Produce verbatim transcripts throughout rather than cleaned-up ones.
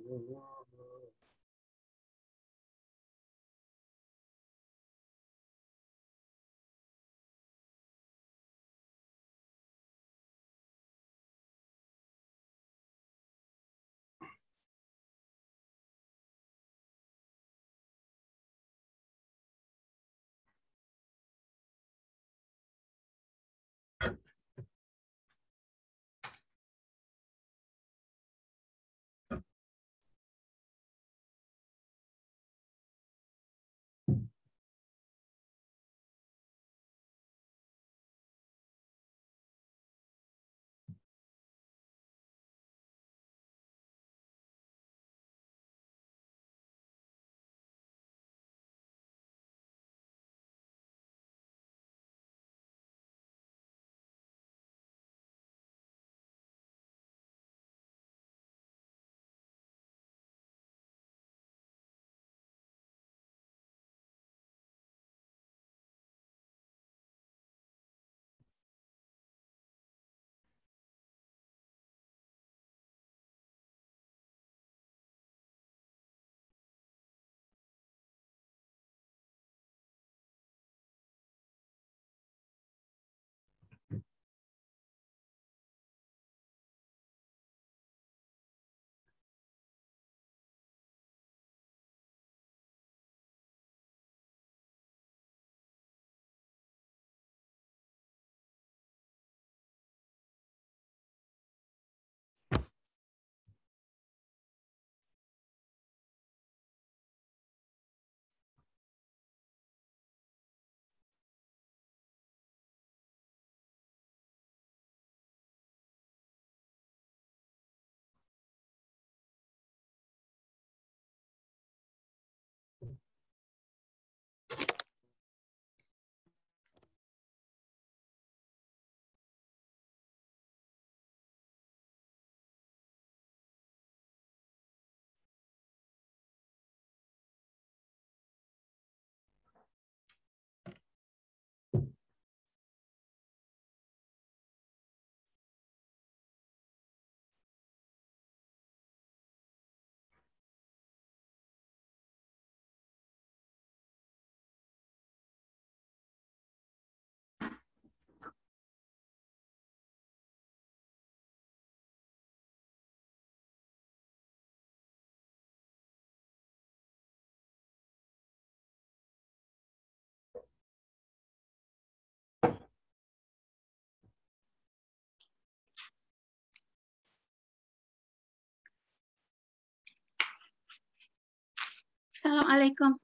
Assalamualaikum.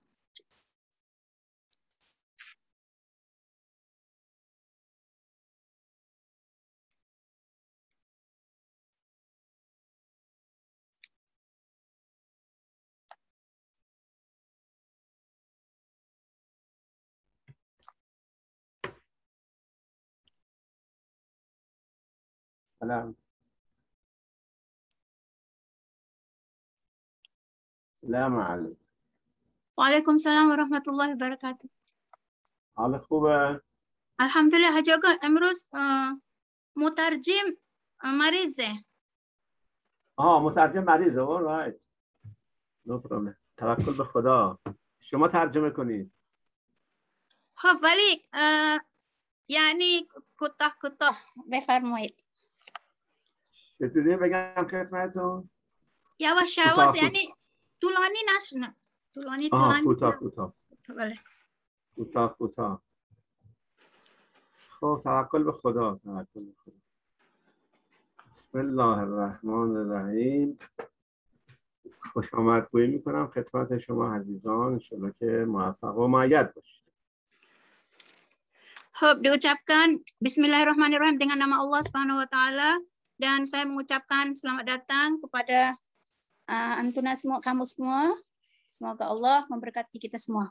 Salam. سلام عليكم. Waalaikumsalam warahmatullahi wabarakatuh. حال خوبه؟ Alhamdulillah Haji Aga, امروز مترجم مریضه. آها مترجم مریضه. all right. No problem. توکل به خدا. شما ترجمه کنید. خب ولی یعنی کوتاه کوتاه بفرمایید. چطوری بگم خدمتتون؟ یواش یواش یعنی طولانی نشنه. طولانی آها طولانی. کوتاه کوتاه. بله. کوتاه کوتاه. خب توکل به خدا. توکل به خدا. بسم الله الرحمن الرحیم. خوش آمد گویی میکنم خدمت شما عزیزان. انشالله که موفق و مؤید باشید. خب diucapkan Bismillahirrahmanirrahim dengan nama Allah Subhanahu wa taala dan saya mengucapkan selamat datang kepada uh, antuna semua kamu semua. Semoga Allah memberkati kita semua.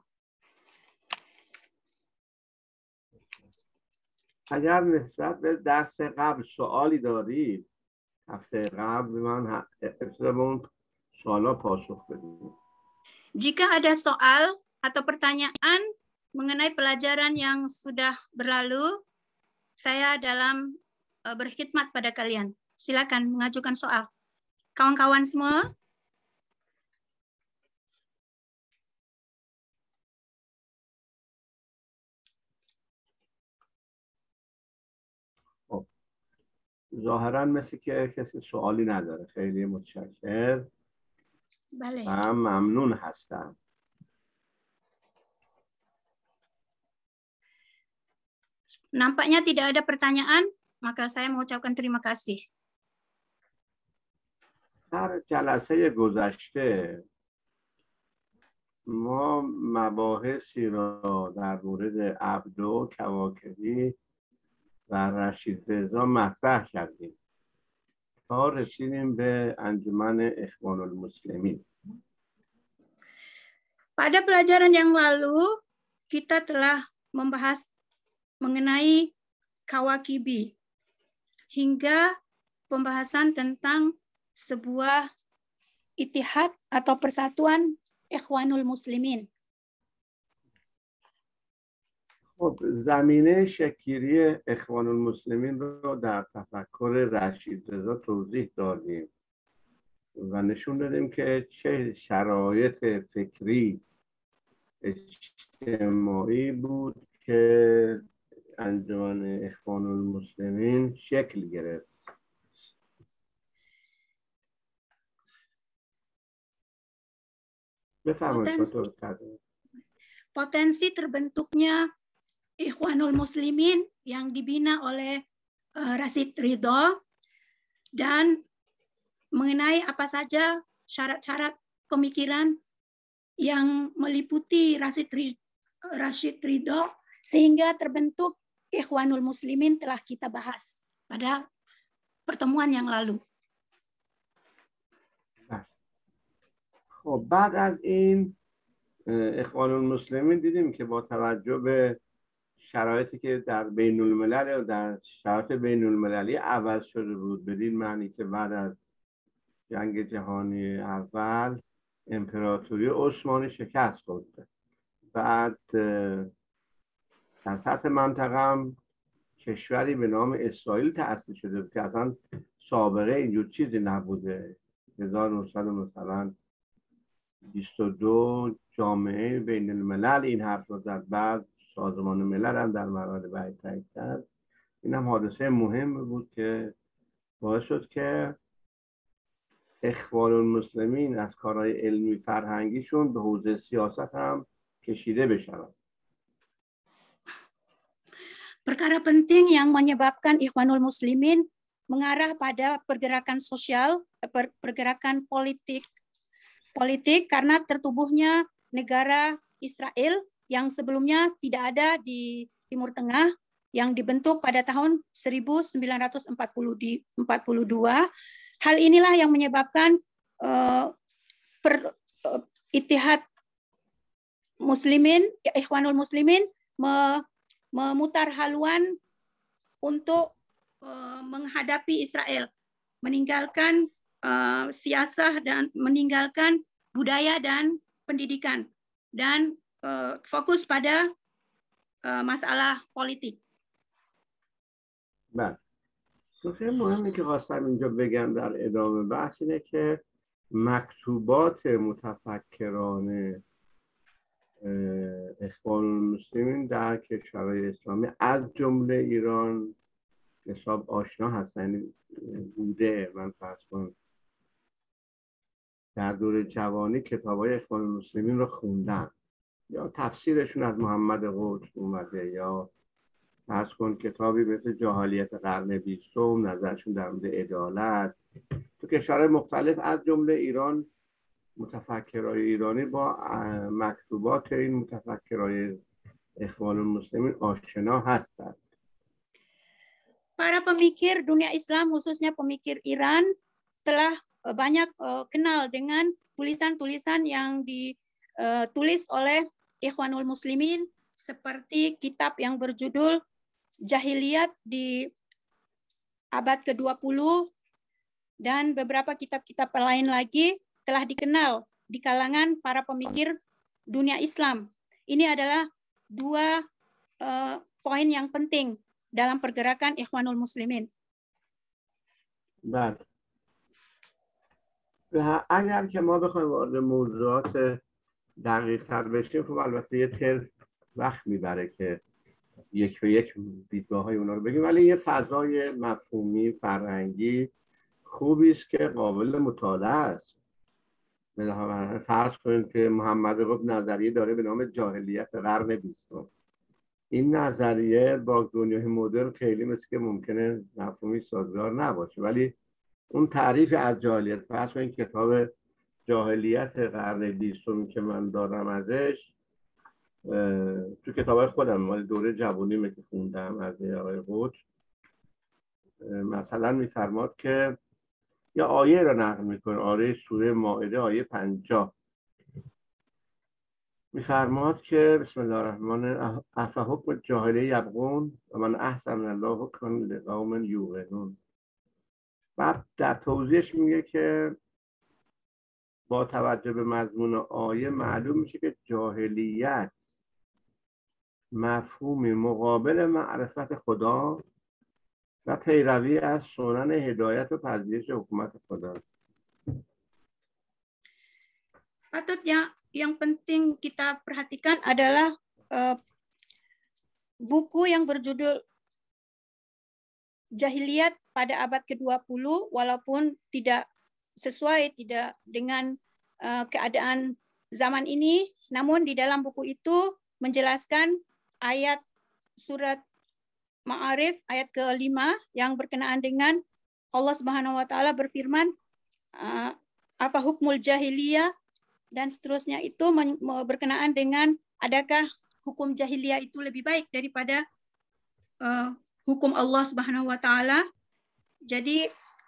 اگر نسبت به درس قبل سوالی دارید هفته قبل من ابتدا به اون سوالا پاسخ بدید. Jika ada soal atau pertanyaan mengenai pelajaran yang sudah berlalu, saya dalam uh, berkhidmat pada kalian. Silakan mengajukan soal. Kawan-kawan semua, ظاهرا مثل که کسی سوالی نداره. خیلی متشکر بله. و ممنون هستم. Nampaknya tidak ada pertanyaan, maka saya mengucapkan terima kasih. در جلسه گذشته ما مباحثی را در مورد عبدو، کواکبی و رشید رضا مطرح کردیم تا رسیدیم به انجمن اخوان المسلمین. Pada pelajaran yang lalu kita telah membahas mengenai kawakibi hingga pembahasan tentang sebuah itihad atau persatuan Ikhwanul Muslimin. خب زمینه شکل‌گیری اخوان المسلمین رو در تفکر رشید رضا توضیح دادیم و نشون دادیم که چه شرایط فکری اجتماعی بود که انجمن اخوان المسلمین شکل گرفت. Potensi, potensi terbentuknya Ikhwanul Muslimin yang dibina oleh uh, Rashid Ridho dan mengenai apa saja syarat-syarat pemikiran yang meliputi Rashid Rashid Ridho sehingga terbentuk Ikhwanul Muslimin telah kita bahas pada pertemuan yang lalu. خب بعد از این اخوان المسلمین دیدیم که با توجه به شرایطی که در بین الملل و در شرایط بین المللی عوض شده بود، بدین معنی که بعد از جنگ جهانی اول امپراتوری عثمانی شکست خورد، بعد در سطح منطقه هم کشوری به نام اسرائیل تأسیس شده بود که اصلا سابقه اینجور چیزی نبوده. هزار و نهصد مثلا بیست و دو جامعه بین الملل این حرف رو زد، بعد سازمان ملل هم در مورد بعد تایید کرد. این هم حادثه مهم بود که باعث شد که اخوان المسلمین از کارهای علمی فرهنگیشون به حوزه سیاست هم کشیده بشن. Perkara penting yang menyebabkan Ikhwanul Muslimin mengarah pada pergerakan sosial, pergerakan politik politik karena tertubuhnya negara Israel yang sebelumnya tidak ada di Timur Tengah yang dibentuk pada tahun seribu sembilan ratus empat puluh dua. Hal inilah yang menyebabkan uh, per, uh, Ittihad Muslimin, Ikhwanul Muslimin me, memutar haluan untuk uh, menghadapi Israel, meninggalkan uh, siasah dan meninggalkan budaya dan pendidikan dan uh, fokus pada uh, masalah politik. بله. نکته مهمی که خواستم اینجا بگم در ادامه بحث اینه که مکتوبات متفکران اخوان المسلمین در کشورهای اسلامی از جمله ایران حساب آشنا هستن بوده. من فرض کنم در دوره جوانی کتاب‌های اخوان المسلمین رو خوندن یا تفسیرشون از محمد قطب اومده یا فرض کن کتابی مثل جاهلیت قرن بیستم، نظرشون در مورد عدالت. تو کشورهای مختلف از جمله ایران متفکرای ایرانی با مکتوبات این متفکرای اخوان المسلمین آشنا هستند. Para pemikir dunia Islam, khususnya pemikir Iran, telah banyak uh, kenal dengan tulisan-tulisan yang ditulis oleh Ikhwanul Muslimin, seperti kitab yang berjudul Jahiliyat di abad ke dua puluh dan beberapa kitab-kitab lain lagi telah dikenal di kalangan para pemikir dunia Islam. Ini adalah dua uh, poin yang penting dalam pergerakan Ikhwanul Muslimin. بله. اگر که ما بخوایم وارد موضوعات دقیق تر بشیم خب البته یه تر وقت میبره که یک به یک دیدگاه های اونا رو بگیم، ولی یه فضای مفهومی فرهنگی خوبی است که قابل مطالعه است. مثلا فرض کنید که محمد قطب نظریه داره به نام جاهلیت قرن بیستم. این نظریه با دنیای مدرن خیلی مثل که ممکنه مفهومی سازگار نباشه، ولی اون تعریف از جاهلیت، فرض کنید کتاب جاهلیت قرن بیستم که من دارم ازش، تو کتابای خودم مال دوره جوونیمه که خوندم از آقای قطب، مثلا میفرماد که یا آیه را نقل میکنه، آیه سوره مائده آیه پنجاه، میفرماد که بسم الله الرحمن الرحیم افحکم الجاهلیه یبغون و من احسن الله حکما لقوم یوقنون. بعد در توضیحش میگه که با توجه به مضمون آیه معلوم میشه که جاهلیت مفهومی مقابل معرفت خدا و پیروی از سنن هدایت و پذیرش حکومت خدا. Patut yang yang penting kita perhatikan adalah uh, buku yang berjudul Jahiliyat pada abad ke dua puluh, walaupun tidak sesuai, tidak dengan uh, keadaan zaman ini, namun di dalam buku itu menjelaskan ayat surat Ma'arif ayat kelima yang berkenaan dengan Allah Subhanahu wa taala berfirman uh, apa hukmul jahiliyah dan seterusnya, itu berkenaan dengan adakah hukum jahiliyah itu lebih baik daripada uh, hukum Allah Subhanahu wa taala. Jadi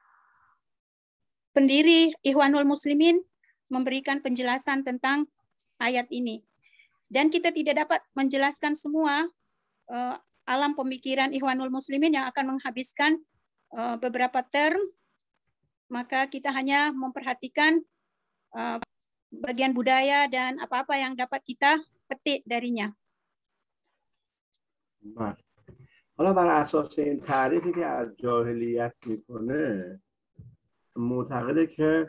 pendiri Ikhwanul Muslimin memberikan penjelasan tentang ayat ini. Dan kita tidak dapat menjelaskan semua uh, alam pemikiran Ikhwanul Muslimin yang akan menghabiskan uh, beberapa term, maka kita hanya memperhatikan uh, bagian budaya dan apa-apa yang dapat kita petik darinya. بله. حالا بر اساس این تعریفی که از جاهلیت میکنه، معتقده که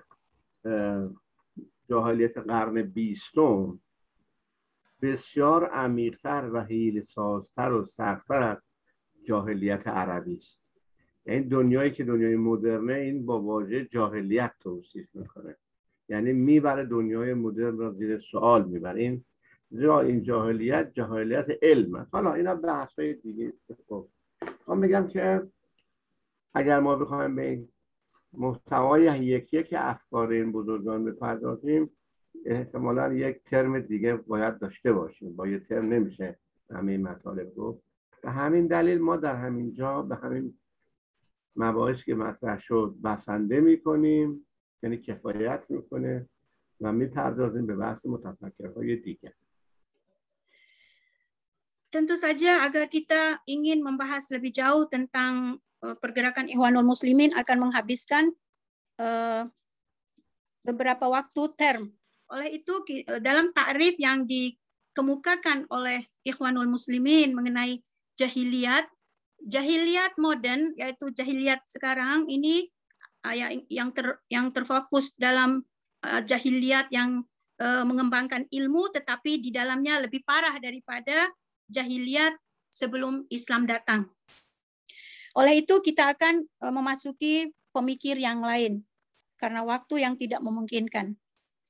جاهلیت قرن بیستم بسیار عمیق‌تر و حیله‌سازتر و سخت‌تر از جاهلیت عربی است. یعنی دنیایی که دنیای مدرنه این با واژه جاهلیت توصیف میکنه، یعنی میبره دنیای مدرن را زیر سوال میبره. این زیرا این جاهلیت جاهلیت علم است. حالا اینا بحث‌های دیگه. خب من میگم که اگر ما بخوایم به این محتوای یکی یک افکار این بزرگان بپردازیم، احتمالاً یک ترم دیگه باید داشته باشیم. با یه ترم نمیشه همین مطالب گفت. به همین دلیل ما در همین جا به همین مباحث که مطرح شد بسنده میکنیم، یعنی کفایت میکنه و میپردازیم به بحث متفکرهای دیگر. Tentu saja agar kita ingin membahas lebih jauh tentang uh, pergerakan Ikhwanul Muslimin akan menghabiskan uh, beberapa waktu term. Oleh itu dalam takrif yang dikemukakan oleh Ikhwanul Muslimin mengenai jahiliyat, jahiliyat modern yaitu jahiliyat sekarang ini uh, yang ter, yang terfokus dalam uh, jahiliyat yang uh, mengembangkan ilmu, tetapi di dalamnya lebih parah daripada jahiliyat sebelum Islam datang. Oleh itu kita akan uh, memasuki pemikir yang lain karena waktu yang tidak memungkinkan.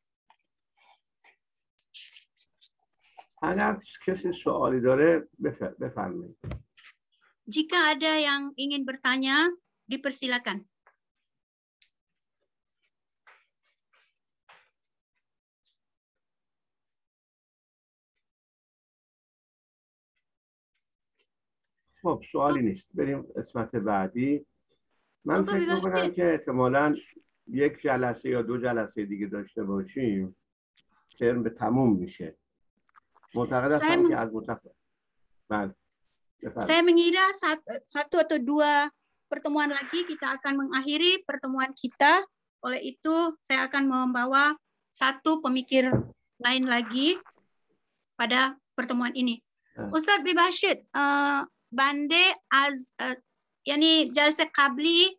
اگر کسی سوالی داره بفرمایید. Jika ada yang ingin bertanya, dipersilakan. خب سوالی نیست، بریم قسمت بعدی. من فکر میکنم که احتمالاً یک جلسه یا دو جلسه دیگه داشته باشیم ترم به تموم میشه. معتقد هستم که از متفق بله. Saya mengira satu atau dua pertemuan lagi kita akan mengakhiri pertemuan kita. Oleh itu saya akan membawa satu pemikir lain lagi pada pertemuan ini. Hmm. Ustaz Bibashid, uh, bande az uh, yani jalsa qabli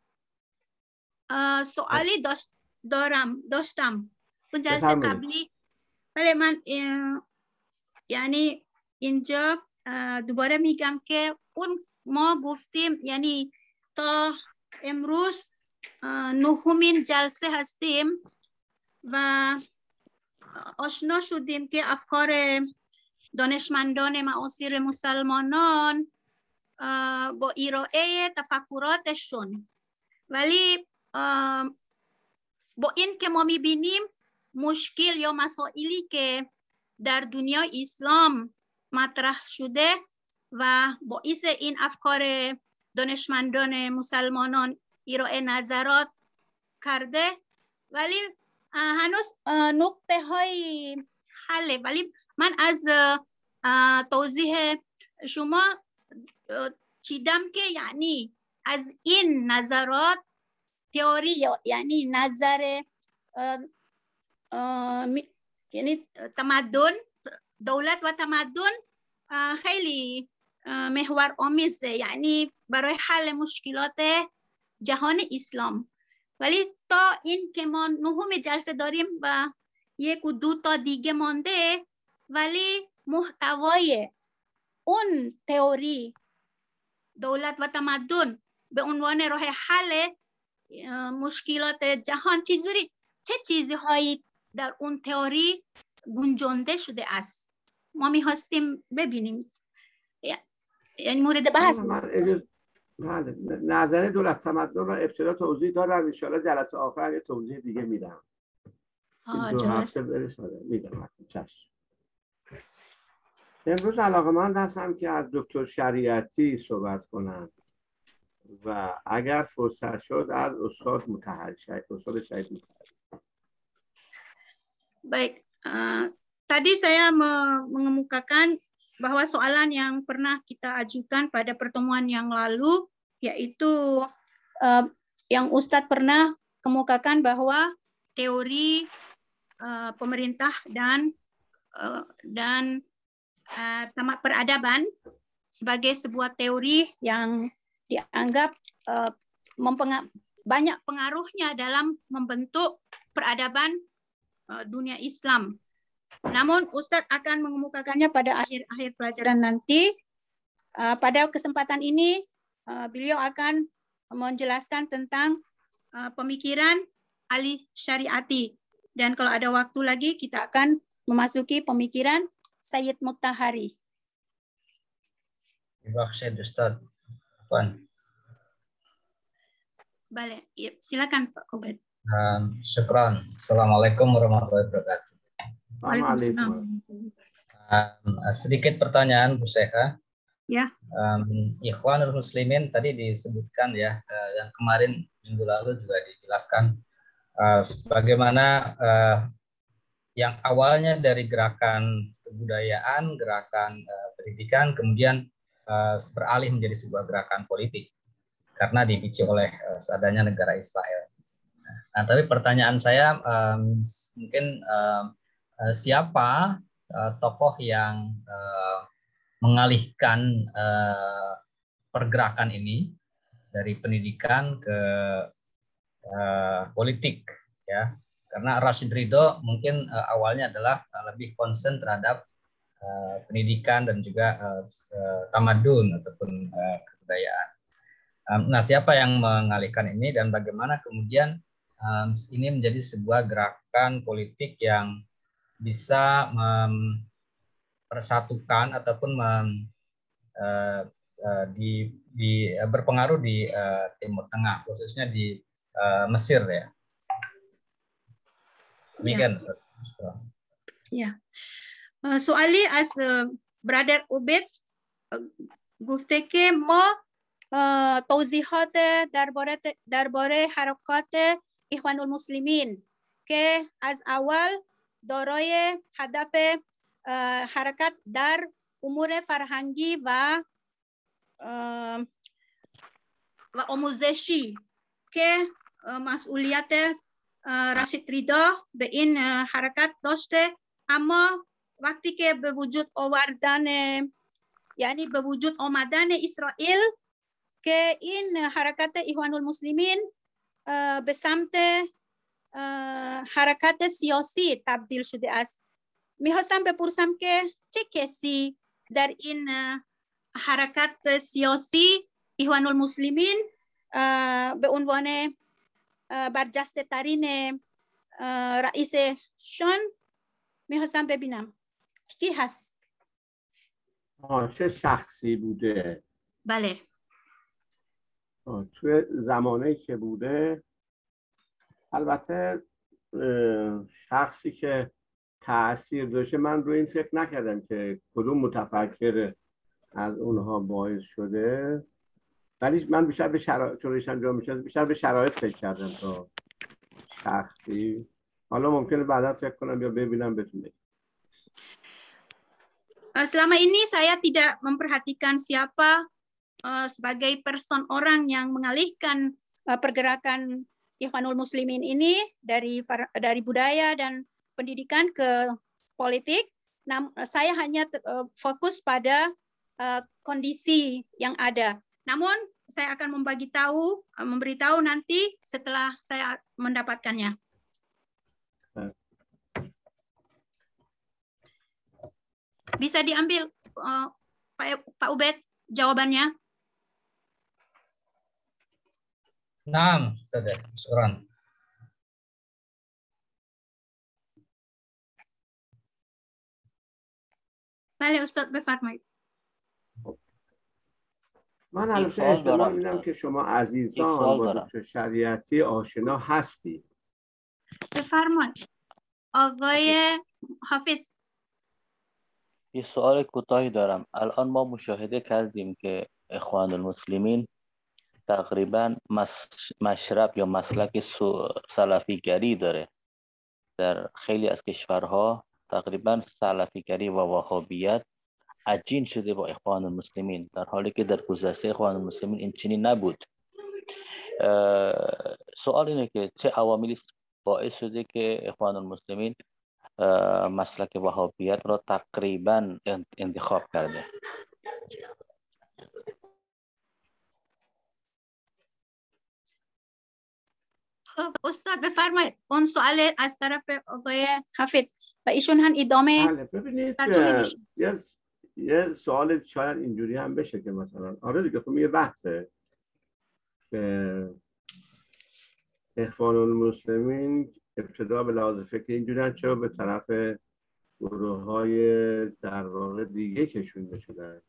uh, soali dos doram dostam pun jalsa qabli bale man uh, yani اینجا دوباره میگم که اون ما گفتیم یعنی تا امروز نهمین جلسه هستیم و آشنا شدیم که افکار دانشمندان معاصر مسلمانان با ارائه تفکراتشون، ولی با این که ما میبینیم مشکل یا مسائلی که در دنیای اسلام مطرح شده و باعث این افکار دانشمندان مسلمانان ارائه نظرات کرده، ولی هنوز نقطه های حله. ولی من از توضیح شما چیدم که یعنی از این نظرات تئوری یعنی نظر یعنی تمدن، دولت و تمدن خیلی محور آمیزه، یعنی برای حل مشکلات جهان اسلام. ولی تا این که ما نهم جلسه داریم و یک و دو تا دیگه مانده، ولی محتوای اون تئوری دولت و تمدن به عنوان راه حل مشکلات جهان چیزوری چه چیزهایی در اون تئوری گنجانده شده است ما می‌خواستیم ببینیم، یعنی مورد بحث. بله، نظر دولت تمدن را ابتدا توضیح دادم، ان شاءالله جلسه آخر یه توضیح دیگه میدم. این دو هفته برساده میدم. چشم. امروز علاقه‌مند هستم که از دکتر شریعتی صحبت کنم و اگر فرصت شد از استاد مطهری شهید استاد شهید مطهری. Baik, uh, tadi saya mengemukakan bahwa soalan yang pernah kita ajukan pada pertemuan yang lalu, yaitu uh, yang Ustadz pernah kemukakan bahwa teori uh, pemerintah dan uh, dan uh, tamat peradaban sebagai sebuah teori yang dianggap uh, mempenga- banyak pengaruhnya dalam membentuk peradaban uh, dunia Islam. Namun Ustadz akan mengemukakannya pada akhir-akhir pelajaran nanti. Uh, pada kesempatan ini uh, beliau akan menjelaskan tentang uh, pemikiran Ali Syariati. Dan kalau ada waktu lagi kita akan memasuki pemikiran Sayyid Mutahari. Terima kasih Ustadz. Afwan. Balik, ya, silakan Pak Kobat. Um, syukran. Assalamualaikum warahmatullahi wabarakatuh. Waalaikumsalam. Um, sedikit pertanyaan Bu Seha. Ya. Um, Ikhwanul Muslimin tadi disebutkan ya, uh, yang kemarin minggu lalu juga dijelaskan uh, bagaimana uh, yang awalnya dari gerakan kebudayaan, gerakan uh, pendidikan, kemudian uh, beralih menjadi sebuah gerakan politik karena dipicu oleh uh, seadanya negara Israel. Nah, tapi pertanyaan saya um, mungkin um, uh, siapa uh, tokoh yang uh, mengalihkan uh, pergerakan ini dari pendidikan ke uh, politik, ya? Karena Rashid Ridho mungkin uh, awalnya adalah uh, lebih concern terhadap uh, pendidikan dan juga uh, uh, tamadun ataupun uh, kebudayaan. Um, nah, siapa yang mengalihkan ini dan bagaimana kemudian um, ini menjadi sebuah gerakan politik yang bisa mempersatukan ataupun mem, uh, uh, di, di uh, berpengaruh di uh, Timur Tengah, khususnya di uh, Mesir ya. Demikian. Ya. سوالی از برادر عبید گفته که ما توضیحات درباره درباره حرکات اخوان المسلمین که از اول دارای هدف حرکت در امور فرهنگی و و آموزشی که مسئولیت رشید ریدا به این حرکت داشته، اما وقتی که به وجود آوردن یعنی به وجود آمدن اسرائیل که این حرکت اخوان المسلمین به سمت حرکت سیاسی تبدیل شده است. میخواستم بپرسم که چه کسی در این حرکت سیاسی ایخوان المسلمین به عنوان برجسته ترین رئیسشون میخواستم ببینم کی هست؟ آه چه شخصی بوده؟ بله. توی زمانی که بوده، البته شخصی که تأثیر داشته، من روی این فکر نکردم که کدوم متفکر از اونها باعث شده، ولی من بیشتر به شرایط چونش انجام میشه بیشتر به شرایط فکر کردم تا شخصی. حالا ممکنه بعدا فکر کنم یا ببینم بتونه. Selama ini saya tidak memperhatikan siapa uh, sebagai person orang yang mengalihkan uh, pergerakan Ikhwanul Muslimin ini dari dari budaya dan pendidikan ke politik. Nam, saya hanya uh, fokus pada uh, kondisi yang ada. Namun saya akan membagi tahu, uh, memberitahu nanti setelah saya mendapatkannya. Bisa diambil uh, Pak, Pak Ubed jawabannya? Naam, Ustaz. Syukran. بله استاد بفرمایید. من البته احتمال میدم که شما عزیزان با دکتر شریعتی آشنا هستید. بفرمایید آقای حافظ. یه سوال کوتاهی دارم. الان ما مشاهده کردیم که اخوان المسلمین تقریبا مشرب یا مسلک سلفیگری داره. در خیلی از کشورها تقریبا سلفیگری و وهابیت عجین شده با اخوان المسلمین، در حالی که در گذشته اخوان المسلمین این چنین نبود. سوال اینه که چه عواملی باعث شده که اخوان المسلمین مسلک وهابیت را تقریبا انتخاب کرده؟ خب استاد بفرمایید. اون سوال از طرف آقای حافظ و ایشون هم ادامه. بله ببینید یه یه سوال شاید اینجوری هم بشه که مثلا آره دیگه خب یه بحثه که اخوان المسلمین ابتدا به لحاظ فکری اینجوری چرا به طرف گروه های در واقع دیگه کشونده شدن.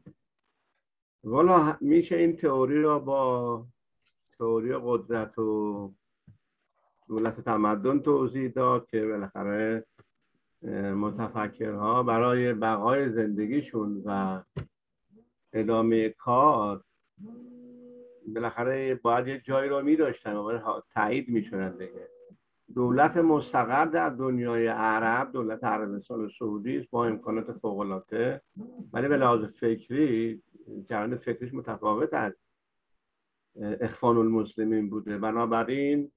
والا میشه این تئوری را با تئوری قدرت و دولت تمدن توضیح داد که بالاخره متفکرها برای بقای زندگیشون و ادامه کار بالاخره باید یه جایی رو می داشتن و تایید می شدن دیگه. دولت مستقر در دنیای عرب دولت عربستان سعودی است با امکانات فوق‌العاده، ولی به لحاظ فکری جریان فکریش متفاوت از اخوان المسلمین بوده. بنابراین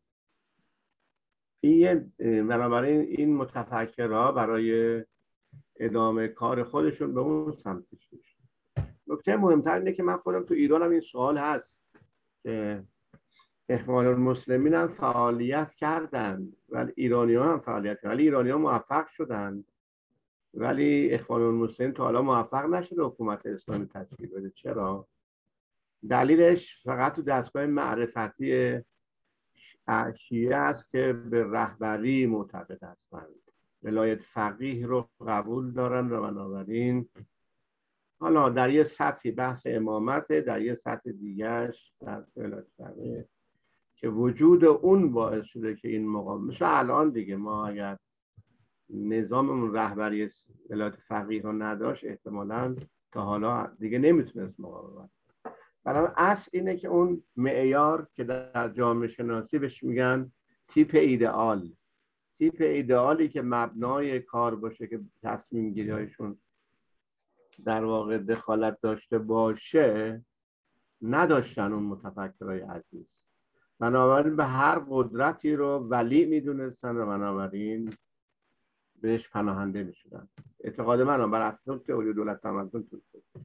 این بنابراین این متفکرها برای ادامه کار خودشون به اون سمت کشیدن. نکته مهمتر اینه که من خودم تو ایرانم این سوال هست که اخوان المسلمین هم فعالیت کردن ولی ایرانی‌ها هم فعالیت کردن، ولی ایرانی‌ها موفق شدن ولی اخوان المسلمین تا حالا موفق نشده حکومت اسلامی تشکیل بده. چرا؟ دلیلش فقط تو دستگاه معرفتی شیعه است که به رهبری معتقد هستند، ولایت فقیه رو قبول دارن و بنابراین حالا در یه سطحی بحث امامت، در یه سطح دیگرش در ولایت فقیه که وجود اون باعث شده که این مقام مثل الان دیگه ما اگر نظاممون رهبری ولایت فقیه رو نداشت احتمالاً تا حالا دیگه نمیتونست مقاومت. برای اصل اینه که اون معیار که در جامعه شناسی بهش میگن تیپ ایدئال، تیپ ایدئالی که مبنای کار باشه که تصمیم گیری‌هایشون در واقع دخالت داشته باشه نداشتن اون متفکرای عزیز. بنابراین به هر قدرتی رو ولی میدونستن و بنابراین بهش پناهنده میشدن. اعتقاد من هم بر اساس تئوری دولت تمدن توش بود.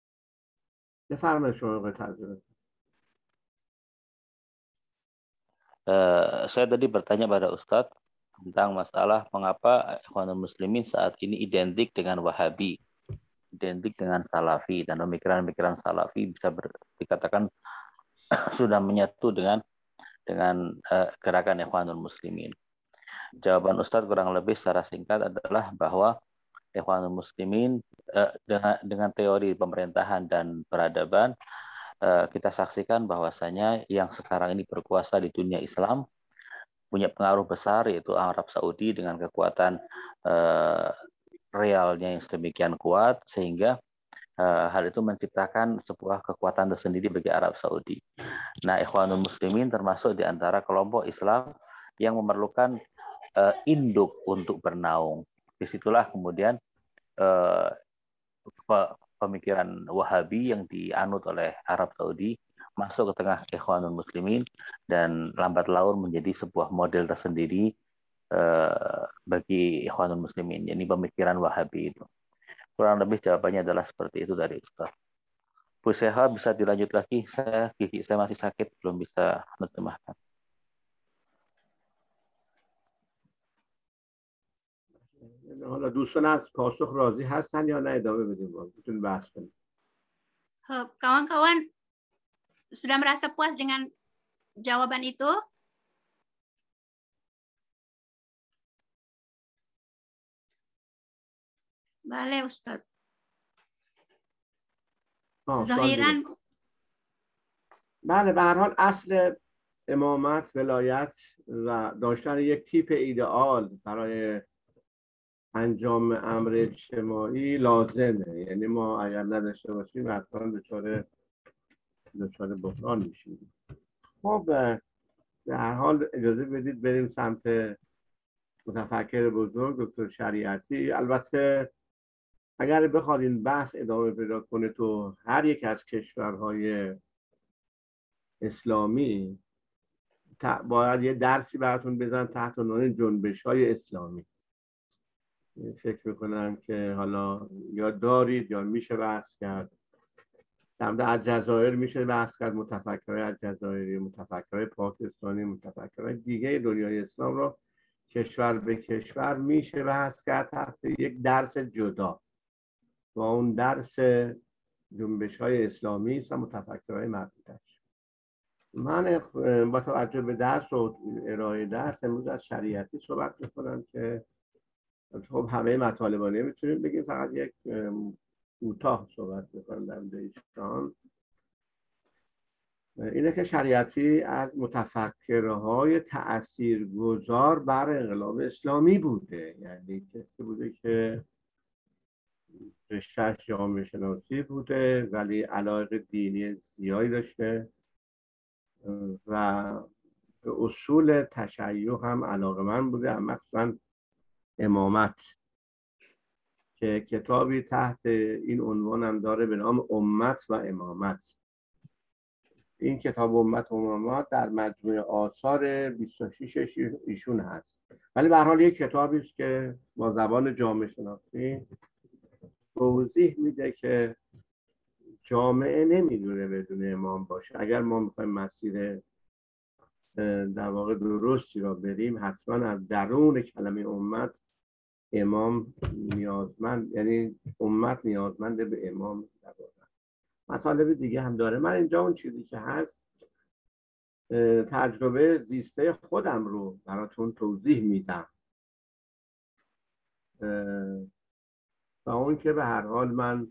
بفرمایید شما آقای ترجمه. Uh, saya tadi bertanya pada Ustadz tentang masalah mengapa Ikhwanul Muslimin saat ini identik dengan Wahabi, identik dengan Salafi, dan pemikiran-pemikiran Salafi bisa ber, dikatakan sudah menyatu dengan dengan uh, gerakan Ikhwanul Muslimin. Jawaban Ustadz kurang lebih secara singkat adalah bahwa Ikhwanul Muslimin uh, dengan dengan teori pemerintahan dan peradaban, uh, kita saksikan bahwasanya yang sekarang ini berkuasa di dunia Islam punya pengaruh besar, yaitu Arab Saudi dengan kekuatan uh, realnya yang sedemikian kuat, sehingga uh, hal itu menciptakan sebuah kekuatan tersendiri bagi Arab Saudi. Nah, Ikhwanul Muslimin termasuk di antara kelompok Islam yang memerlukan uh, induk untuk bernaung. Disitulah kemudian uh, pemikiran Wahabi yang dianut oleh Arab Saudi masuk ke tengah Ikhwanul Muslimin dan lambat laun menjadi sebuah model tersendiri uh, bagi Ikhwanul Muslimin, yakni pemikiran Wahabi itu. Kurang lebih jawabannya adalah seperti itu dari Ustaz. Bu Seha bisa dilanjut lagi, saya gigi saya masih sakit, belum bisa menerjemahkan. حالا دوستان از پاسخ راضی هستن یا نه ادامه بدیم باز بتونیم بحث کنیم. Kawan-kawan sudah merasa puas dengan jawaban itu? Boleh Ustaz. ظاهراً بله، به هر حال اصل امامت، ولایت و داشتن یک تیپ ایدئال برای انجام امر اجتماعی لازمه. یعنی ما اگر نداشته باشیم حتما دچار دچار بحران میشیم. خب به هر حال اجازه بدید بریم سمت متفکر بزرگ دکتر شریعتی. البته اگر بخواد این بحث ادامه پیدا کنه تو هر یک از کشورهای اسلامی، باید یه درسی براتون بزن تحت عنوان جنبش‌های اسلامی. فکر میکنم که حالا یا دارید یا میشه بحث کرد. در مورد الجزایر میشه بحث کرد، متفکرهای الجزایری، متفکرهای پاکستانی، متفکرهای دیگه دنیای اسلام رو کشور به کشور میشه بحث کرد تحت یک درس جدا و اون درس جنبش‌های اسلامی است و متفکرهای مربوطش. من با توجه به درس و ارائه درس امروز از شریعتی صحبت میکنم که خب همه مطالبا نمیتونیم بگیم، فقط یک کوتاه صحبت میکنم در مورد ایشان. اینه که شریعتی از متفکرهای تاثیرگذار بر انقلاب اسلامی بوده، یعنی کسی بوده که رشته‌اش جامعه شناسی بوده ولی علاقه دینی زیادی داشته و به اصول تشیع هم علاقه‌مند بوده، مخصوصاً امامت که کتابی تحت این عنوان هم داره به نام امت و امامت. این کتاب امت و امامت در مجموعه آثار بیست و شش ایشون هست، ولی به هر حال یک کتابی است که با زبان جامعه شناسی توضیح میده که جامعه نمیدونه بدون امام باشه. اگر ما میخوایم مسیر در واقع درستی را بریم، حتما از درون کلمه امت امام نیازمند، یعنی امت نیازمند به امام. مطالب دیگه هم داره. من اینجا اون چیزی که هست تجربه زیسته خودم رو براتون توضیح میدم و اون که به هر حال من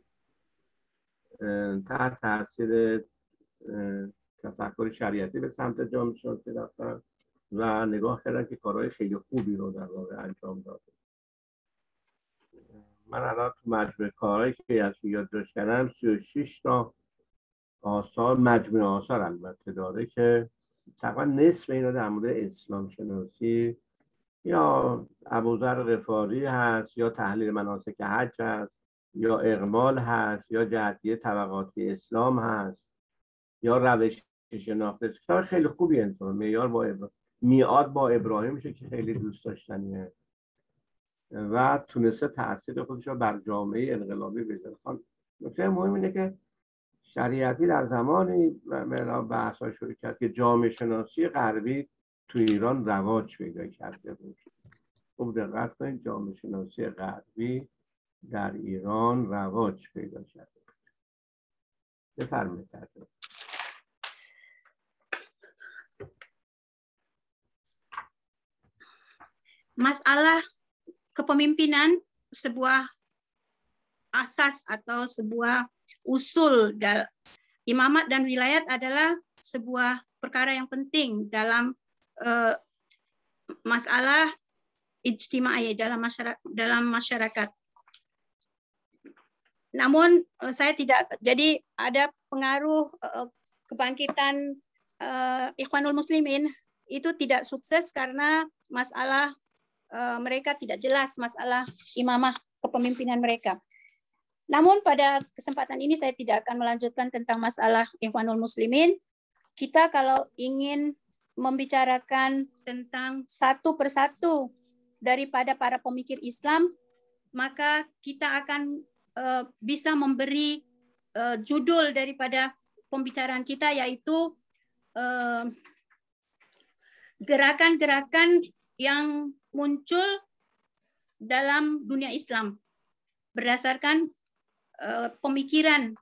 تحت تاثیر تفکر شریعتی به سمت جامعه شناسی رفتم و نگاه کردم که کارهای خیلی خوبی رو در واقع انجام داده. من الان تو مجموعه کارهایی که از یادداشت کردم سی و شش تا آثار، مجموعه آثار البته داره که تقریبا نصف اینا در مورد اسلام شناسی یا ابوذر غفاری هست، یا تحلیل مناسک حج هست، یا اقمال هست، یا جهتیه طبقاتی اسلام هست، یا روش شناخت. کتاب خیلی خوبی انتون معیار با ابراهیم، میعاد با ابراهیم میشه که خیلی دوست داشتنیه و تونسته تاثیر خودش رو بر جامعه انقلابی بذاره. نکته مهم اینه که شریعتی در زمانی بحث‌ها شروع کرد که جامعه شناسی غربی تو ایران رواج پیدا کرده بود. خوب دقت کنید، جامعه شناسی غربی در ایران رواج پیدا کرده بود. بفرمایید. Masalah kepemimpinan sebuah asas atau sebuah usul dalam imamat dan wilayat adalah sebuah perkara yang penting dalam uh, masalah ijtimai dalam masyarakat, dalam masyarakat. Namun uh, saya tidak, jadi ada pengaruh uh, kebangkitan uh, Ikhwanul Muslimin itu tidak sukses karena masalah uh, mereka tidak jelas masalah imamah kepemimpinan mereka. Namun pada kesempatan ini saya tidak akan melanjutkan tentang masalah Ikhwanul Muslimin. Kita kalau ingin membicarakan tentang satu persatu daripada para pemikir Islam, maka kita akan uh, bisa memberi uh, judul daripada pembicaraan kita, yaitu uh, gerakan-gerakan yang muncul dalam dunia Islam berdasarkan uh, pemikiran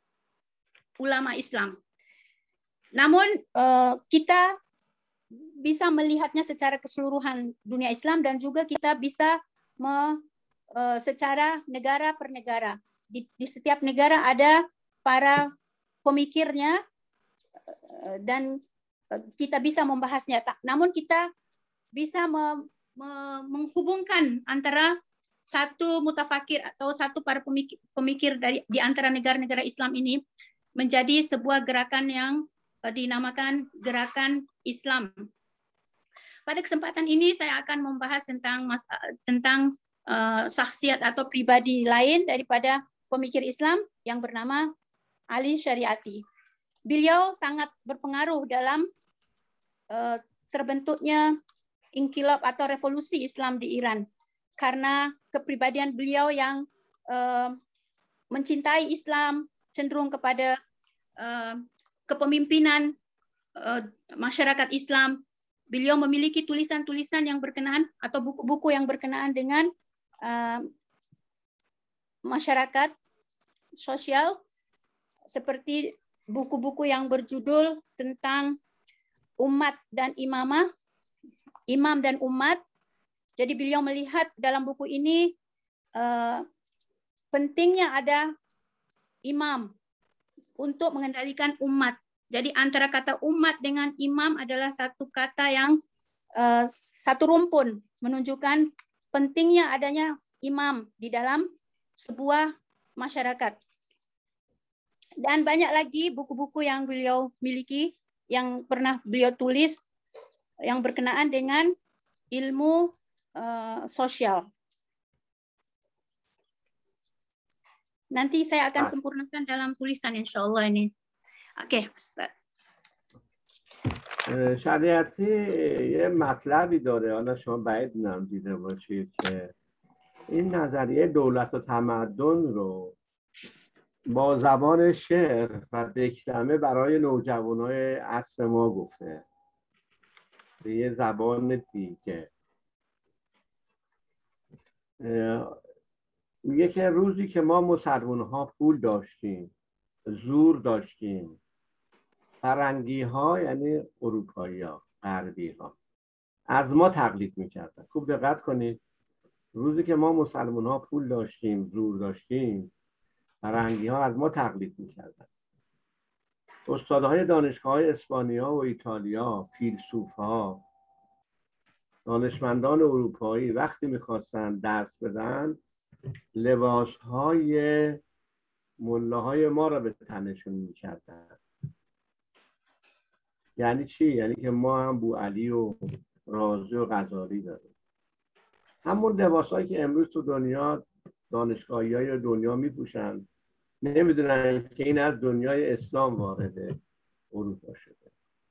ulama Islam. Namun uh, kita bisa melihatnya secara keseluruhan dunia Islam dan juga kita bisa me, uh, secara negara per negara. Di, di setiap negara ada para pemikirnya uh, dan uh, kita bisa membahasnya. Namun kita bisa me, me, menghubungkan antara satu mutafakir atau satu para pemikir, pemikir dari di antara negara-negara Islam ini menjadi sebuah gerakan yang uh, dinamakan gerakan Islam. Pada kesempatan ini saya akan membahas tentang mas, tentang uh, saksiat atau pribadi lain daripada pemikir Islam yang bernama Ali Syariati. Beliau sangat berpengaruh dalam uh, terbentuknya inkilab atau revolusi Islam di Iran karena kepribadian beliau yang uh, mencintai Islam, cenderung kepada uh, kepemimpinan uh, masyarakat Islam. Beliau memiliki tulisan-tulisan yang berkenaan atau buku-buku yang berkenaan dengan uh, masyarakat sosial, seperti buku-buku yang berjudul tentang umat dan imamah, imam dan umat. Jadi beliau melihat dalam buku ini uh, pentingnya ada imam untuk mengendalikan umat. Jadi antara kata umat dengan imam adalah satu kata yang uh, satu rumpun, menunjukkan pentingnya adanya imam di dalam sebuah masyarakat. Dan banyak lagi buku-buku yang beliau miliki, yang pernah beliau tulis, yang berkenaan dengan ilmu uh, sosial. Nanti saya akan sempurnakan dalam tulisan insya Allah ini. Oke, Ustaz. شریعتی یه مطلبی داره، حالا شما بعید نم دیده باشید که این نظریه دولت و تمدن رو با زبان شعر و دکلمه برای نوجوانای عصر ما گفته به یه زبان دیگه. میگه که روزی که ما مسلمان ها پول داشتیم، زور داشتیم، فرنگی ها یعنی اروپایی ها، غربی ها از ما تقلید میکردن. خوب دقت کنید، روزی که ما مسلمان ها پول داشتیم، زور داشتیم، فرنگی ها از ما تقلید میکردن. استادهای دانشگاه های اسپانیا و ایتالیا، فیلسوف ها، دانشمندان اروپایی وقتی میخواستن درس بدن، لباس های ملاهای ما را به تنشون میکردن. یعنی چی؟ یعنی که ما هم بوعلی و رازی و غزالی داریم. همون لباسایی که امروز تو دنیا دانشگاهی های دنیا میپوشن، نمیدونن که این از دنیای اسلام وارد اروپا شده.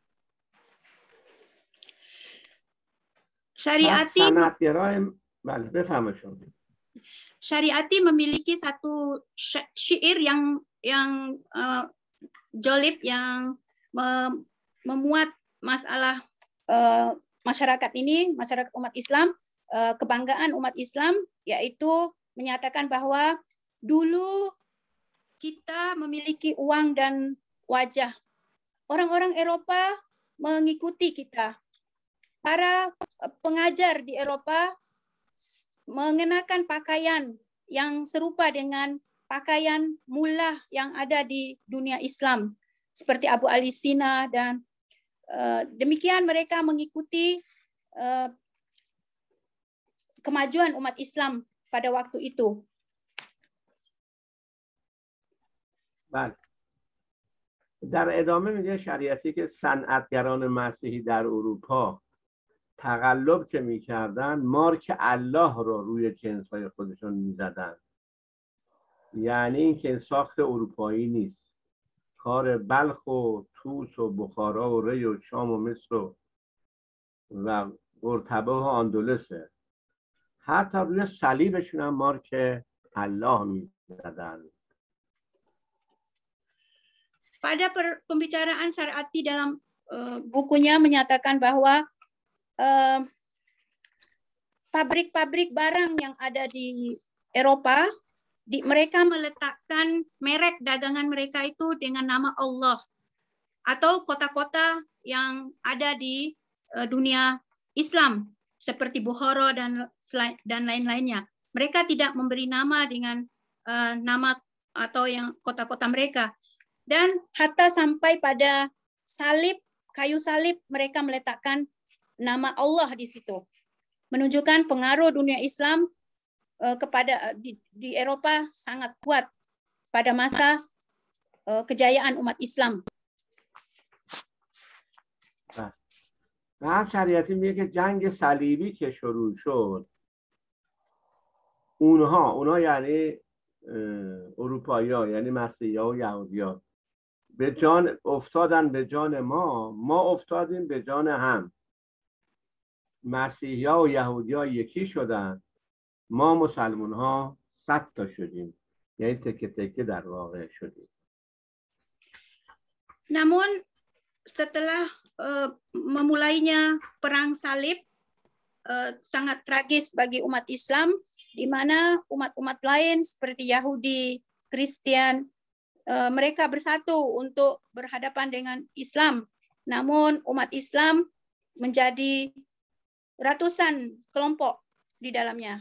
Syariati sanatgerای بله بفهمه شما. Syariati memiliki satu syair yang yang uh, jolib, yang me, memuat masalah uh, masyarakat ini, masyarakat umat Islam, kebanggaan umat Islam, yaitu menyatakan bahwa dulu kita memiliki uang dan wajah. Orang-orang Eropa mengikuti kita. Para pengajar di Eropa mengenakan pakaian yang serupa dengan pakaian mullah yang ada di dunia Islam, seperti Abu Ali Sina, dan uh, demikian mereka mengikuti uh, kemajuan umat Islam pada waktu itu. بله. در ادامه میگه شریعتی که صنعتگران مسیحی در اروپا تقلب که میکردن مارک الله رو روی جنس‌های خودشون میزدن. یعنی این که ساخت اروپایی نیست، کار بلخ و توس و بخارا و ری و شام و مصر و و قرطبه و اندلسه. حتی روی صلیبشون هم مارک الله میزدن. Pada pembicaraan Syariati dalam uh, bukunya menyatakan bahwa pabrik-pabrik uh, barang yang ada di Eropa, di, mereka meletakkan merek dagangan mereka itu dengan nama Allah atau kota-kota yang ada di uh, dunia Islam seperti Bukhara dan dan lain-lainnya. Mereka tidak memberi nama dengan uh, nama atau yang kota-kota mereka. Dan hatta sampai pada salib, kayu salib, mereka meletakkan nama Allah di situ. Menunjukkan pengaruh dunia Islam uh, kepada di, di Eropa sangat kuat pada masa uh, kejayaan umat Islam. بعد شریعتی میگه که جنگ صلیبی که شروع شد، اونها اونها یعنی اروپایی‌ها، یعنی مسیحی‌ها و یهودی‌ها به جان افتادن، به جان ما، ما افتادیم به جان هم. مسیحی‌ها و یهودی‌ها یکی شدن، ما مسلمان‌ها صد تا شدیم، یعنی تکه تکه در واقع شدیم. Namun setelah uh, memulainya perang salib, uh, sangat tragis bagi umat Islam, di mana umat-umat lain seperti Yahudi, Kristen, uh, mereka bersatu untuk berhadapan dengan Islam. Namun umat Islam menjadi ratusan kelompok di dalamnya.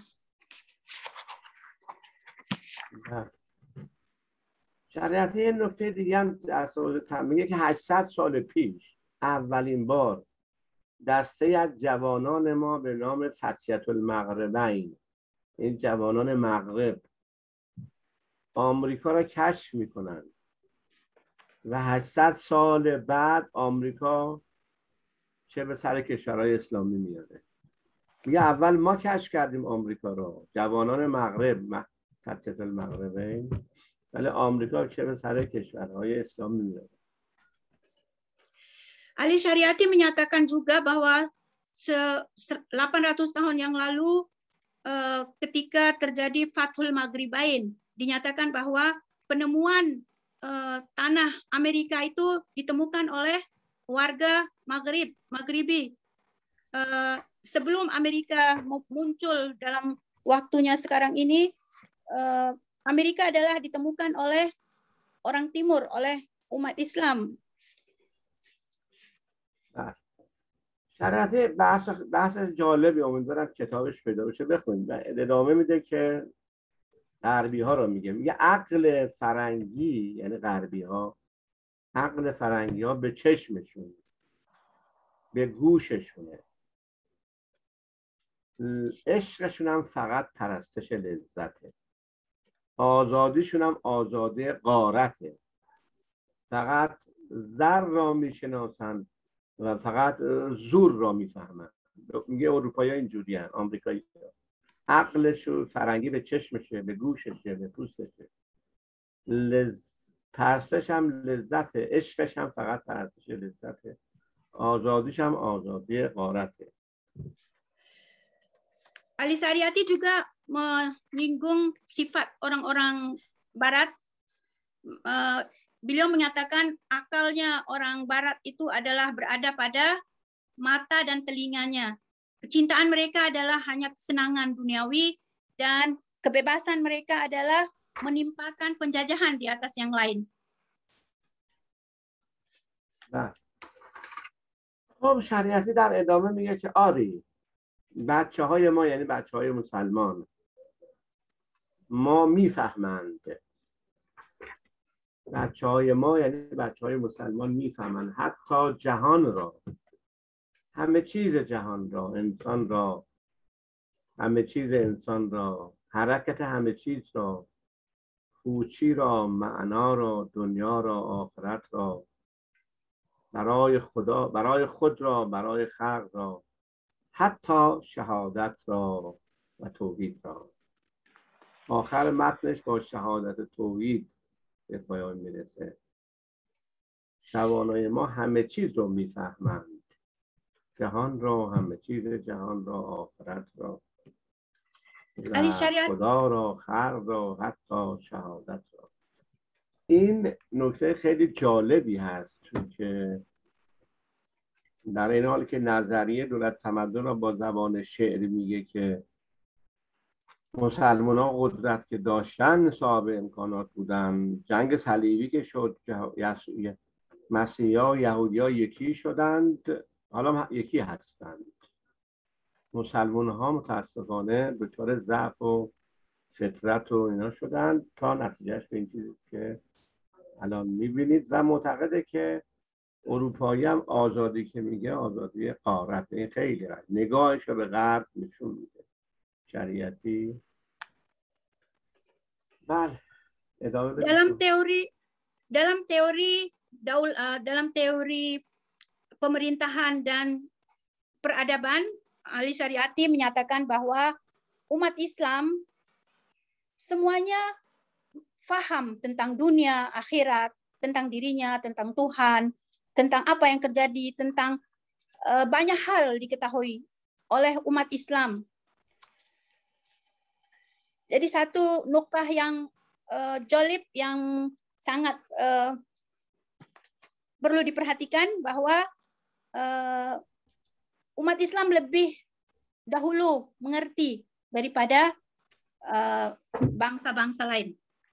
شریعتی این نکته دیگه هم در میگه که هشتصد سال پیش اولین بار دسته از جوانان ما به نام فتیت المغربین، این جوانان مغرب، آمریکا را کشف میکنن و هشتصد سال بعد آمریکا چه به سر کشورهای اسلامی میاره. میگه اول ما کشف کردیم آمریکا را، جوانان مغرب، فتیت المغربین، ولی آمریکا چه به سر کشورهای اسلامی میاره. Ali Syariati menyatakan juga bahwa delapan ratus tahun yang lalu ketika terjadi Fathul Maghribain, dinyatakan bahwa penemuan tanah Amerika itu ditemukan oleh warga Maghrib, Maghribi. Sebelum Amerika muncul dalam waktunya sekarang ini, Amerika adalah ditemukan oleh orang timur, oleh umat Islam. شریعتی بحث بحث جالبی، امیدوارم کتابش پیدا بشه بخونید. ادامه میده که غربی ها رو میگه میگه عقل فرنگی، یعنی غربی ها، عقل فرنگی ها به چشمشون، به گوششونه، عشقشون هم فقط پرستش لذته، آزادیشون هم آزادی غارته، فقط زر را میشناسن و فقط زور را میفهمن. میگه اروپایی ها اینجوری هن، آمریکایی ها عقلش و فرنگی به چشمشه، به گوششه، به پوستشه، لز... پرستش هم لذته، عشقش هم فقط پرستش لذته، آزادیش هم آزادی غارته. Ali Syariati juga menyinggung sifat orang-orang Barat. Beliau menyatakan akalnya orang Barat itu adalah berada pada mata dan telinganya. Kecintaan mereka adalah hanya kesenangan duniawi dan kebebasan mereka adalah menimpakan penjajahan di atas yang lain. Nah, خب شریعتی در ادامه میگه که آری بچه های ما یعنی بچه های مسلمان ما میفهمند بچه های ما یعنی بچه های مسلمان میفهمند حتی جهان را همه چیز جهان را انسان را همه چیز انسان را حرکت همه چیز را پوچی را معنا را دنیا را آخرت را برای خدا برای خود را برای خلق را حتی شهادت را و توحید را. آخر متنش با شهادت توحید به پایان میرسه. شبانای ما همه چیز رو میفهمند، جهان را، همه چیز جهان را، آخرت را و خدا را، خلق را، حتی شهادت را. این نکته خیلی جالبی هست، چون که در این حال که نظریه دولت تمدن را با زبان شعر میگه که مسلمان ها قدرت که داشتن صاحب امکانات بودن، جنگ صلیبی که شد مسیحی ها و یهودی ها یکی شدند، حالا یکی هستند. مسلمان ها متاسفانه دچار ضعف و فطرت و اینا شدند تا نتیجهش به این چیزی که الان میبینید و معتقده که اروپایی هم آزادی که میگه آزادی قارت. این خیلی رد نگاهش رو به غرب نشون میده. شریعتی بله ادامه بدید. dalam teori dalam teori daul uh, dalam teori pemerintahan dan peradaban, Ali Syariati menyatakan bahwa umat Islam semuanya faham tentang dunia, akhirat, tentang dirinya, tentang Tuhan, tentang apa yang terjadi, tentang uh, banyak hal diketahui oleh umat Islam. Jadi satu nuktah yang uh, jolib yang sangat uh, perlu diperhatikan bahwa uh, umat Islam lebih dahulu mengerti daripada bangsa-bangsa uh, lain.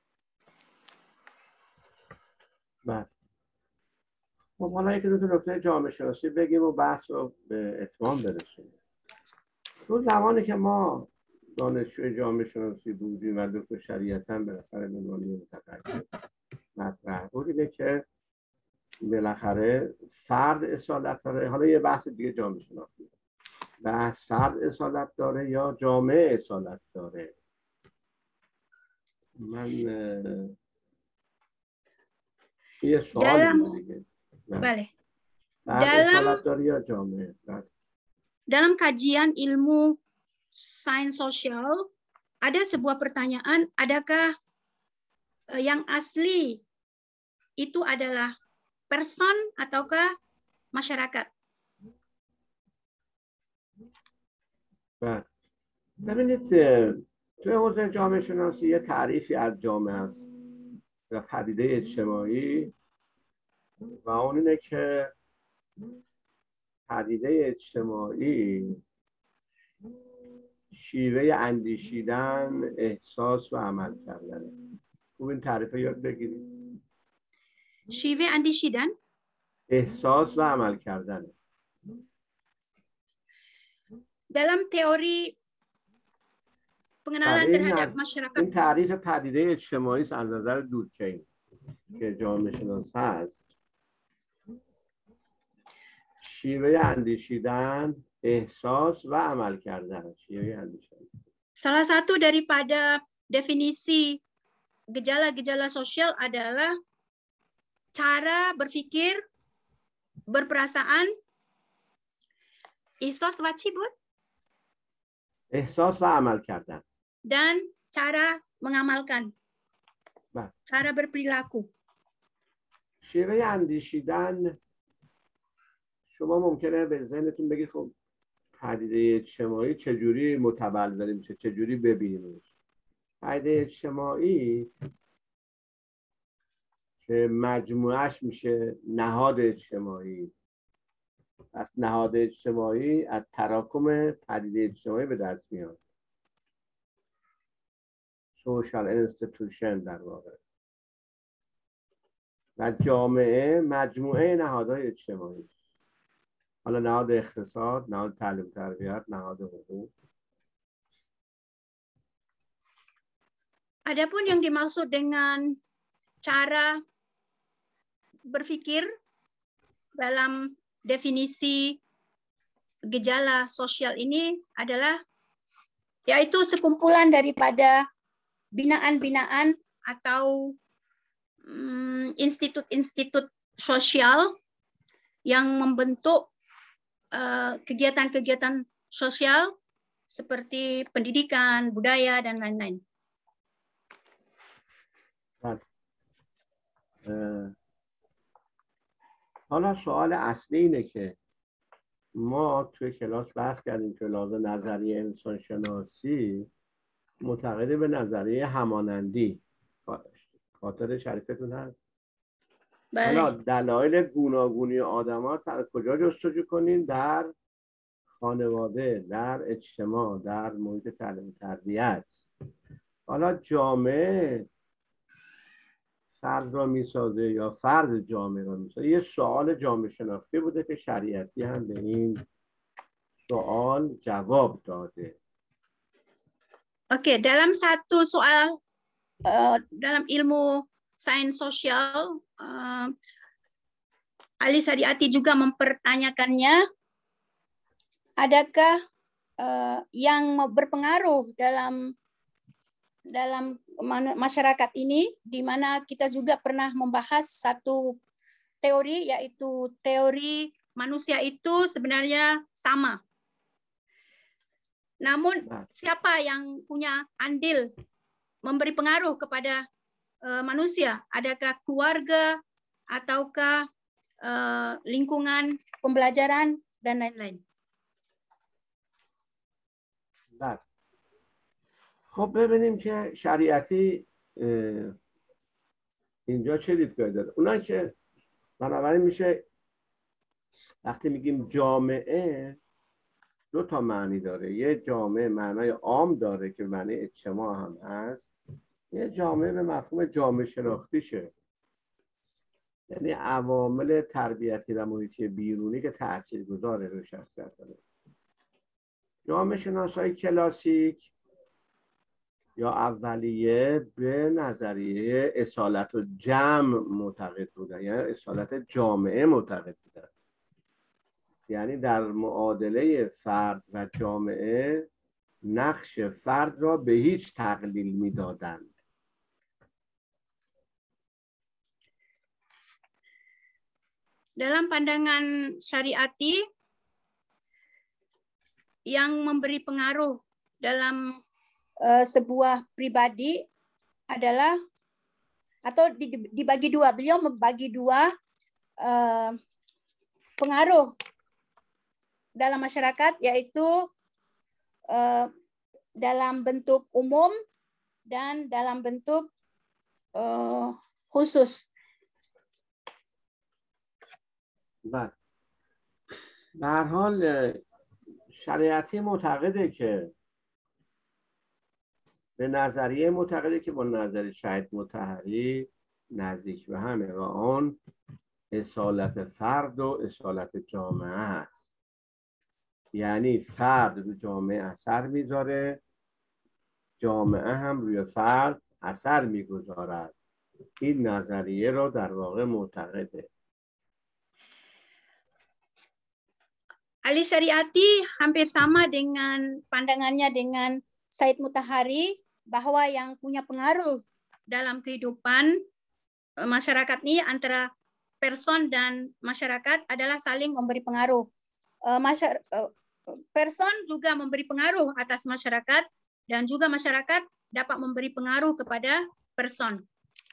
بله. خب حالا یکی دو تا نکته جامعه شناسی بگیم و بحث رو به اتمام برسونیم. تو زمانی که ما دانشجوی جامعه شناسی بودیم و دکتر شریعتی هم بالاخره به عنوان متفکر مطرح بود، اینه که بالاخره فرد اصالت داره. حالا یه بحث دیگه جامعه شناسی، بحث فرد اصالت داره یا جامعه اصالت داره. من یه سوال دیگه بله dalam داره یا جامعه. dalam kajian ilmu sains sosial ada sebuah pertanyaan, adakah yang asli itu adalah person ataukah masyarakat? بله ببینید توی حوزه جامعه شناسی یه تعریفی از جامعه است و پدیده اجتماعی و اون اینه که پدیده اجتماعی شیوه اندیشیدن، احساس و عمل کردنه. خوب این تعریف یاد بگیرید. شیوه اندیشیدن، احساس و عمل کردنه. dalam teori pengenalan terhadap masyarakat. این تعریف پدیده اجتماعی از نظر دورکهیم که جامعه شناس هست، شیوه اندیشیدن، احساس و عمل کردن. شیوه اندیشیدن. Salah satu daripada definisi gejala-gejala sosial adalah cara berpikir, berperasaan, ihsas wa cibut, احساس و عمل کردن dan cara mengamalkan, bah. cara berperilaku. شیوه اندیشیدن شما ممکنه به ذهنتون بگید خب پدیده اجتماعی چجوری متبلور میشه، چجوری ببینیمش. پدیده اجتماعی که مجموعش میشه نهاد اجتماعی، پس نهاد اجتماعی از تراکم پدیده اجتماعی به دست میاد. سوشال اینستیتوشن در واقع. و جامعه مجموعه نهادهای اجتماعی. حالا نهاد اقتصاد، نهاد تعلیم تربیت، نهاد حقوق. Adapun yang dimaksud dengan cara berpikir dalam definisi gejala sosial ini adalah yaitu sekumpulan daripada binaan-binaan atau institut-institut um, sosial yang membentuk kegiatan-kegiatan uh, sosial seperti pendidikan, budaya, dan lain-lain. حالا سوال اصلی اینه که ما توی کلاس بحث کردیم که لازم نظریه انسان شناسی معتقد به نظریه همانندی. خاطر شریفتون هست؟ بله. حالا دلایل گوناگونی آدم ها در کجا جستجو کنین؟ در خانواده، در اجتماع، در محیط تعلیم تربیت. حالا جامعه فرد را میسازه یا فرد جامعه را میسازه؟ یه سوال جامعه شناختی بوده که شریعتی هم به این سوال jawab dade. Oke, dalam satu soal uh, dalam ilmu sains sosial, uh, Ali Syariati juga mempertanyakannya, adakah uh, yang berpengaruh dalam dalam masyarakat ini, di mana kita juga pernah membahas satu teori, yaitu teori manusia itu sebenarnya sama. Namun siapa yang punya andil memberi pengaruh kepada uh, manusia? Adakah keluarga ataukah uh, lingkungan pembelajaran dan lain-lain? Nah. خب ببینیم که شریعتی اینجا چه دیدگاهی داره. اونا که بنابراین میشه وقتی میگیم جامعه دو تا معنی داره. یه جامعه معنای عام داره که معنی اجتماع هم هست، یه جامعه به مفهوم جامعه شناختیشه، یعنی عوامل تربیتی و محیطی بیرونی که تاثیرگذاره روی شخصیت داره. جامعه شناسای کلاسیک یا اولیه به نظریه اصالت و جمع معتقد بودن، یعنی اصالت جامعه معتقد بودن، یعنی در معادله فرد و جامعه نقش فرد را به هیچ تقلیل میدادند. Dalam pandangan syariati, yang memberi pengaruh dalam uh, sebuah pribadi adalah, atau dibagi dua, beliau membagi dua uh, pengaruh dalam masyarakat, yaitu uh, dalam bentuk umum dan dalam bentuk uh, khusus. بله. به هر حال شریعتی معتقده که به نظریه معتقده که با نظر شهید مطهری نزدیک به همه و آن اصالت فرد و اصالت جامعه هست، یعنی فرد رو جامعه اثر میذاره، جامعه هم روی فرد اثر میگذارد. این نظریه رو در واقع معتقده. Ali Syariati hampir sama dengan pandangannya dengan Said Mutahari, bahwa yang punya pengaruh dalam kehidupan masyarakat ini antara person dan masyarakat adalah saling memberi pengaruh. Person juga memberi pengaruh atas masyarakat dan juga masyarakat dapat memberi pengaruh kepada person.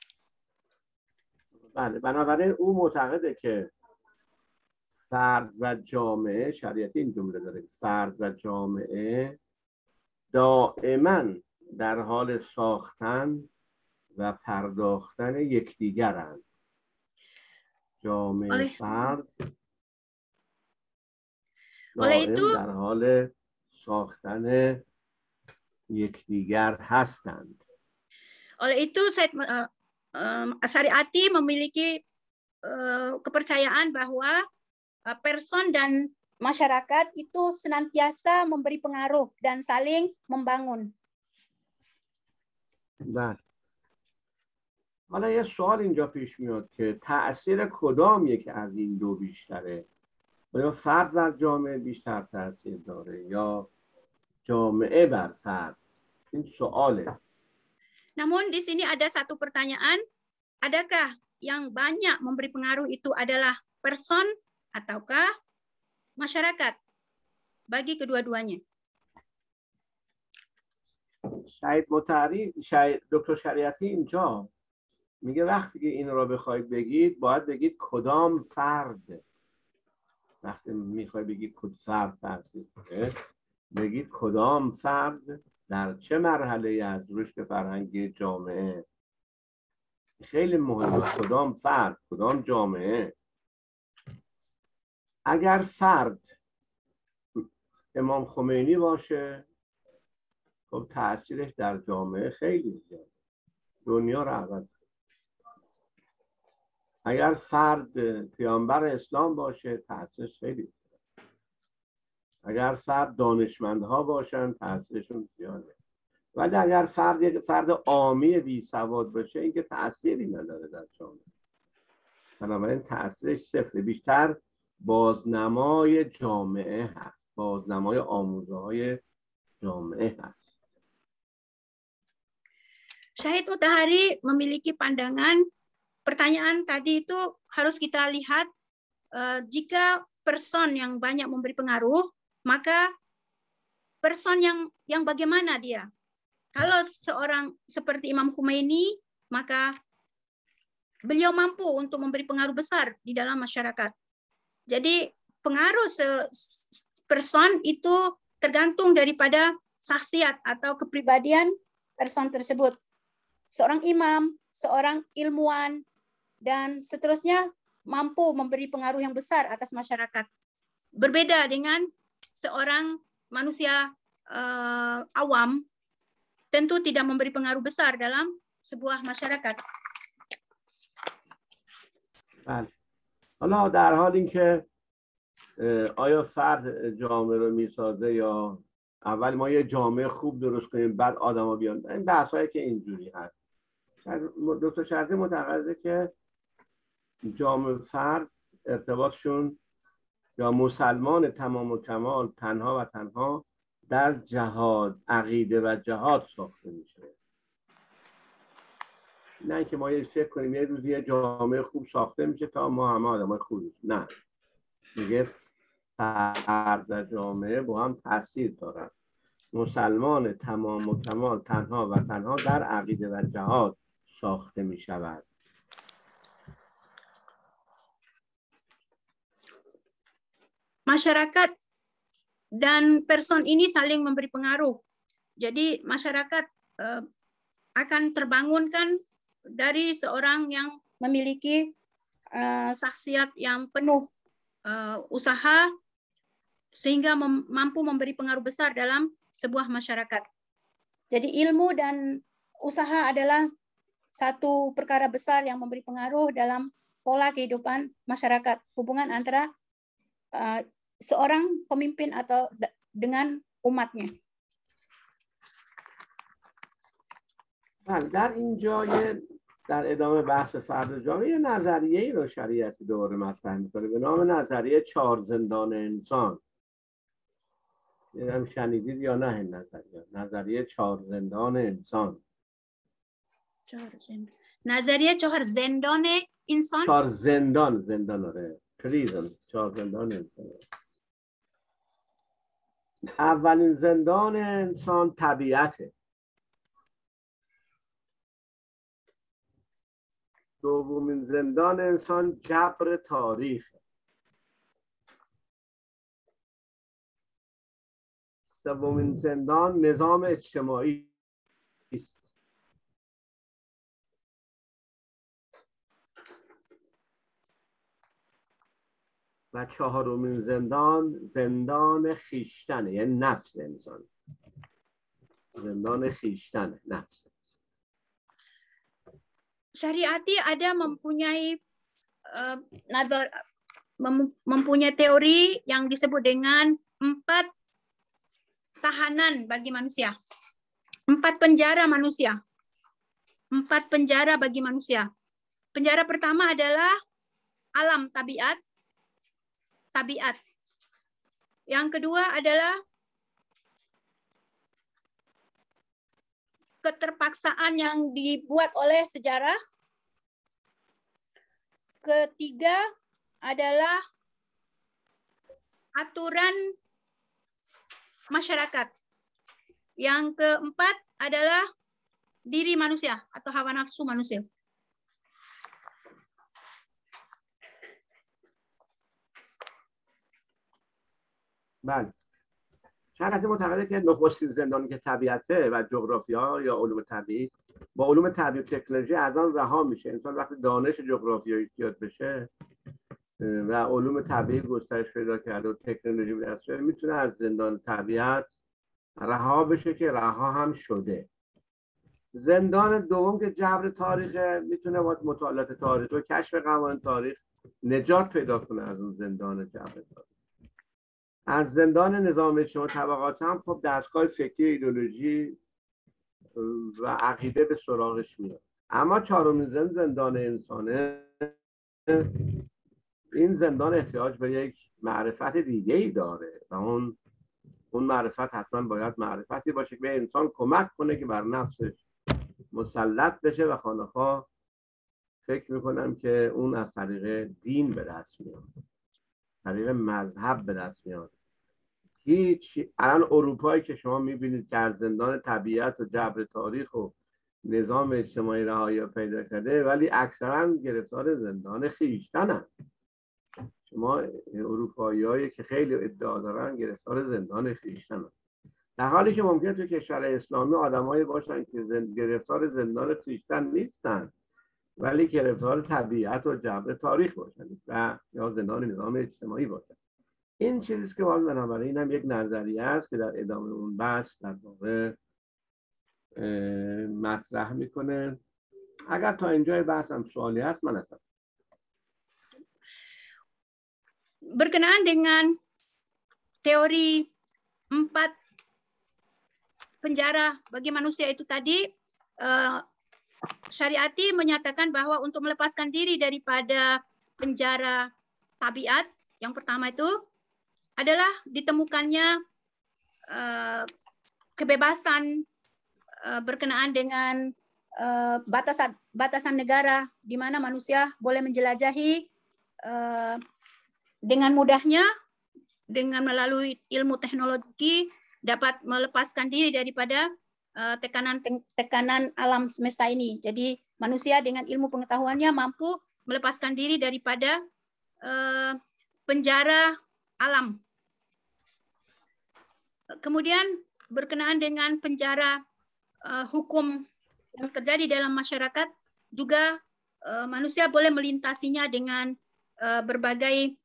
بله، بنابراین او معتقده که فرد و جامعه، شریعتی این جمله داره، فرد و جامعه دائما در حال ساختن و پرداختن یکدیگرند. جامعه فرد دائم در حال ساختن یکدیگر هستند. Oleh itu Said uh, uh, Asy'ariyati memiliki uh, kepercayaan bahwa uh, person dan masyarakat itu senantiasa memberi pengaruh dan saling membangun. بله. حالا یه سوال اینجا پیش میاد که تأثیر کدام یک از این دو بیشتره؟ آیا فرد بر جامعه بیشتر تأثیر داره یا جامعه بر فرد؟ این سواله. Namun di sini ada satu pertanyaan, adakah yang banyak memberi pengaruh itu adalah person ataukah masyarakat? Bagi kedua-duanya. شاید متحری شاید دکتر شریعتی اینجا میگه وقتی که این رو بخواید بگید باید بگید کدام فرد. وقتی میخوای بگید کدام فرد تأثیر داره بگید کدام فرد در چه مرحله از رشد فرهنگی جامعه. خیلی مهمه کدام فرد کدام جامعه. اگر فرد امام خمینی باشه خب تأثیرش در جامعه خیلی زیاده، دنیا رو عوض. اگر فرد پیامبر اسلام باشه تأثیرش خیلی زیاده. اگر فرد دانشمندها باشن تأثیرشون زیاده. ولی اگر فرد یک فرد عامی بی سواد باشه این که تأثیری نداره در جامعه. بنابراین تأثیرش صفر. بیشتر بازنمای جامعه هست، بازنمای آموزه های جامعه هست. Syahid Mutahari memiliki pandangan pertanyaan tadi itu harus kita lihat uh, jika person yang banyak memberi pengaruh, maka person yang yang bagaimana dia? Kalau seorang seperti Imam Khomeini, maka beliau mampu untuk memberi pengaruh besar di dalam masyarakat. Jadi pengaruh person itu tergantung daripada saksiat atau kepribadian person tersebut. Seorang imam, seorang ilmuwan, dan seterusnya mampu memberi pengaruh yang besar atas masyarakat. Berbeda dengan seorang manusia uh, awam, tentu tidak memberi pengaruh besar dalam sebuah masyarakat. بله. حالا در حال اینکه آیا فرد جامعه رو میسازه یا اول ما یه جامعه خوب درست کنیم بعد آدما بیان، این بحثایی که اینجوری هست. دکتر شریعتی معتقده که جامعه فرد ارتباطشون یا مسلمان تمام و کمال تنها و تنها در جهاد، عقیده و جهاد ساخته میشه. نه اینکه ما یه فکر کنیم یه روزی یه جامعه خوب ساخته میشه تا ما همه آدمای خوبیم. نه، میگه فرد و جامعه با هم تاثیر دارن. مسلمان تمام و کمال تنها و تنها در عقیده و جهاد ساخته می شود. Masyarakat dan person ini saling memberi pengaruh. Jadi masyarakat eh, akan terbangunkan dari seorang yang memiliki eh, saksiat yang penuh eh, usaha sehingga mem mampu memberi pengaruh besar dalam sebuah masyarakat. Jadi ilmu dan usaha adalah satu perkara besar yang memberi pengaruh dalam pola kehidupan masyarakat, hubungan antara uh, seorang pemimpin atau dengan umatnya. در اینجا در ادامه بحث فرد جامعه یه نظریه‌ای رو شریعتی دوباره مطرح می‌کنه به نام نظریه چهار زندان انسان. هم شنیدید یا نه این نظریه؟ نظریه چهار زندان انسان. چهار زندان. نظریه چهار زندان انسان. چهار زندان زندان آره. پریزن. چهار زندان انسان. اولین زندان انسان طبیعته. دومین زندان انسان جبر تاریخ. سومین زندان نظام اجتماعی است. و چهارمین زندان زندان خیشتنه، یعنی نفس انسان. Zendana khishtan, nafs. Syariati ada mempunyai uh, nadar, mem, mempunyai teori yang disebut dengan empat tahanan bagi manusia, empat penjara manusia, empat penjara bagi manusia. Penjara pertama adalah alam tabiat, tabiat. Yang kedua adalah keterpaksaan yang dibuat oleh sejarah. Ketiga adalah aturan masyarakat. Yang keempat adalah diri manusia atau hawa nafsu manusia. بله. شرایط معتقده که نخستین زندانی که طبیعته و جغرافیا یا علوم طبیعی با علوم طبیعی و تکنولوژی از آن رها میشه. انسان وقتی دانش جغرافیایی زیاد بشه و علوم طبیعی گسترش پیدا کرده و تکنولوژی به دست بیاره، میتونه از زندان طبیعت رها بشه که رها هم شده. زندان دوم که جبر تاریخه، میتونه با مطالعات تاریخ و کشف قوانین تاریخ نجات پیدا کنه از اون زندان جبر تاریخ. از زندان نظام اجتماعی طبقات هم خب دستگاه فکری، ایدئولوژی و عقیده به سراغش میاد. اما چهارمین زندان زندان انسانه. این زندان احتیاج به یک معرفت دیگه ای داره و اون اون معرفت حتما باید معرفتی باشه که به انسان کمک کنه که بر نفسش مسلط بشه و خانه‌ها فکر میکنم که اون از طریق دین به دست میاد، طریق مذهب به دست میاد. هیچ الان اروپایی که شما میبینید که از زندان طبیعت و جبر تاریخ و نظام اجتماعی رهایی پیدا کرده، ولی اکثرا گرفتار زندان خویشتنن. شما اروپاییایی که خیلی ادعا دارن گرفتار زندان خویشتنن، در حالی که ممکنه تو کشور اسلامی آدمایی باشن که زند... گرفتار زندان خویشتن نیستن ولی گرفتار طبیعت و جبر تاریخ باشن و یا زندان نظام اجتماعی باشن. این چیزی که باید بنابراین هم یک نظریه است که در ادامه اون بحث در واقع مطرح میکنه. اگر تا اینجای بحث هم سوالی هست من هستم. Berkenaan dengan teori empat penjara bagi manusia itu tadi, uh, Syariati menyatakan bahwa untuk melepaskan diri daripada penjara tabiat, yang pertama itu adalah ditemukannya uh, kebebasan uh, berkenaan dengan uh, batasan batasan negara di mana manusia boleh menjelajahi uh, dengan mudahnya dengan melalui ilmu teknologi dapat melepaskan diri daripada uh, tekanan tekanan alam semesta ini. Jadi manusia dengan ilmu pengetahuannya mampu melepaskan diri daripada uh, penjara alam. Kemudian berkenaan dengan penjara uh, hukum yang terjadi dalam masyarakat juga uh, manusia boleh melintasinya dengan uh, berbagai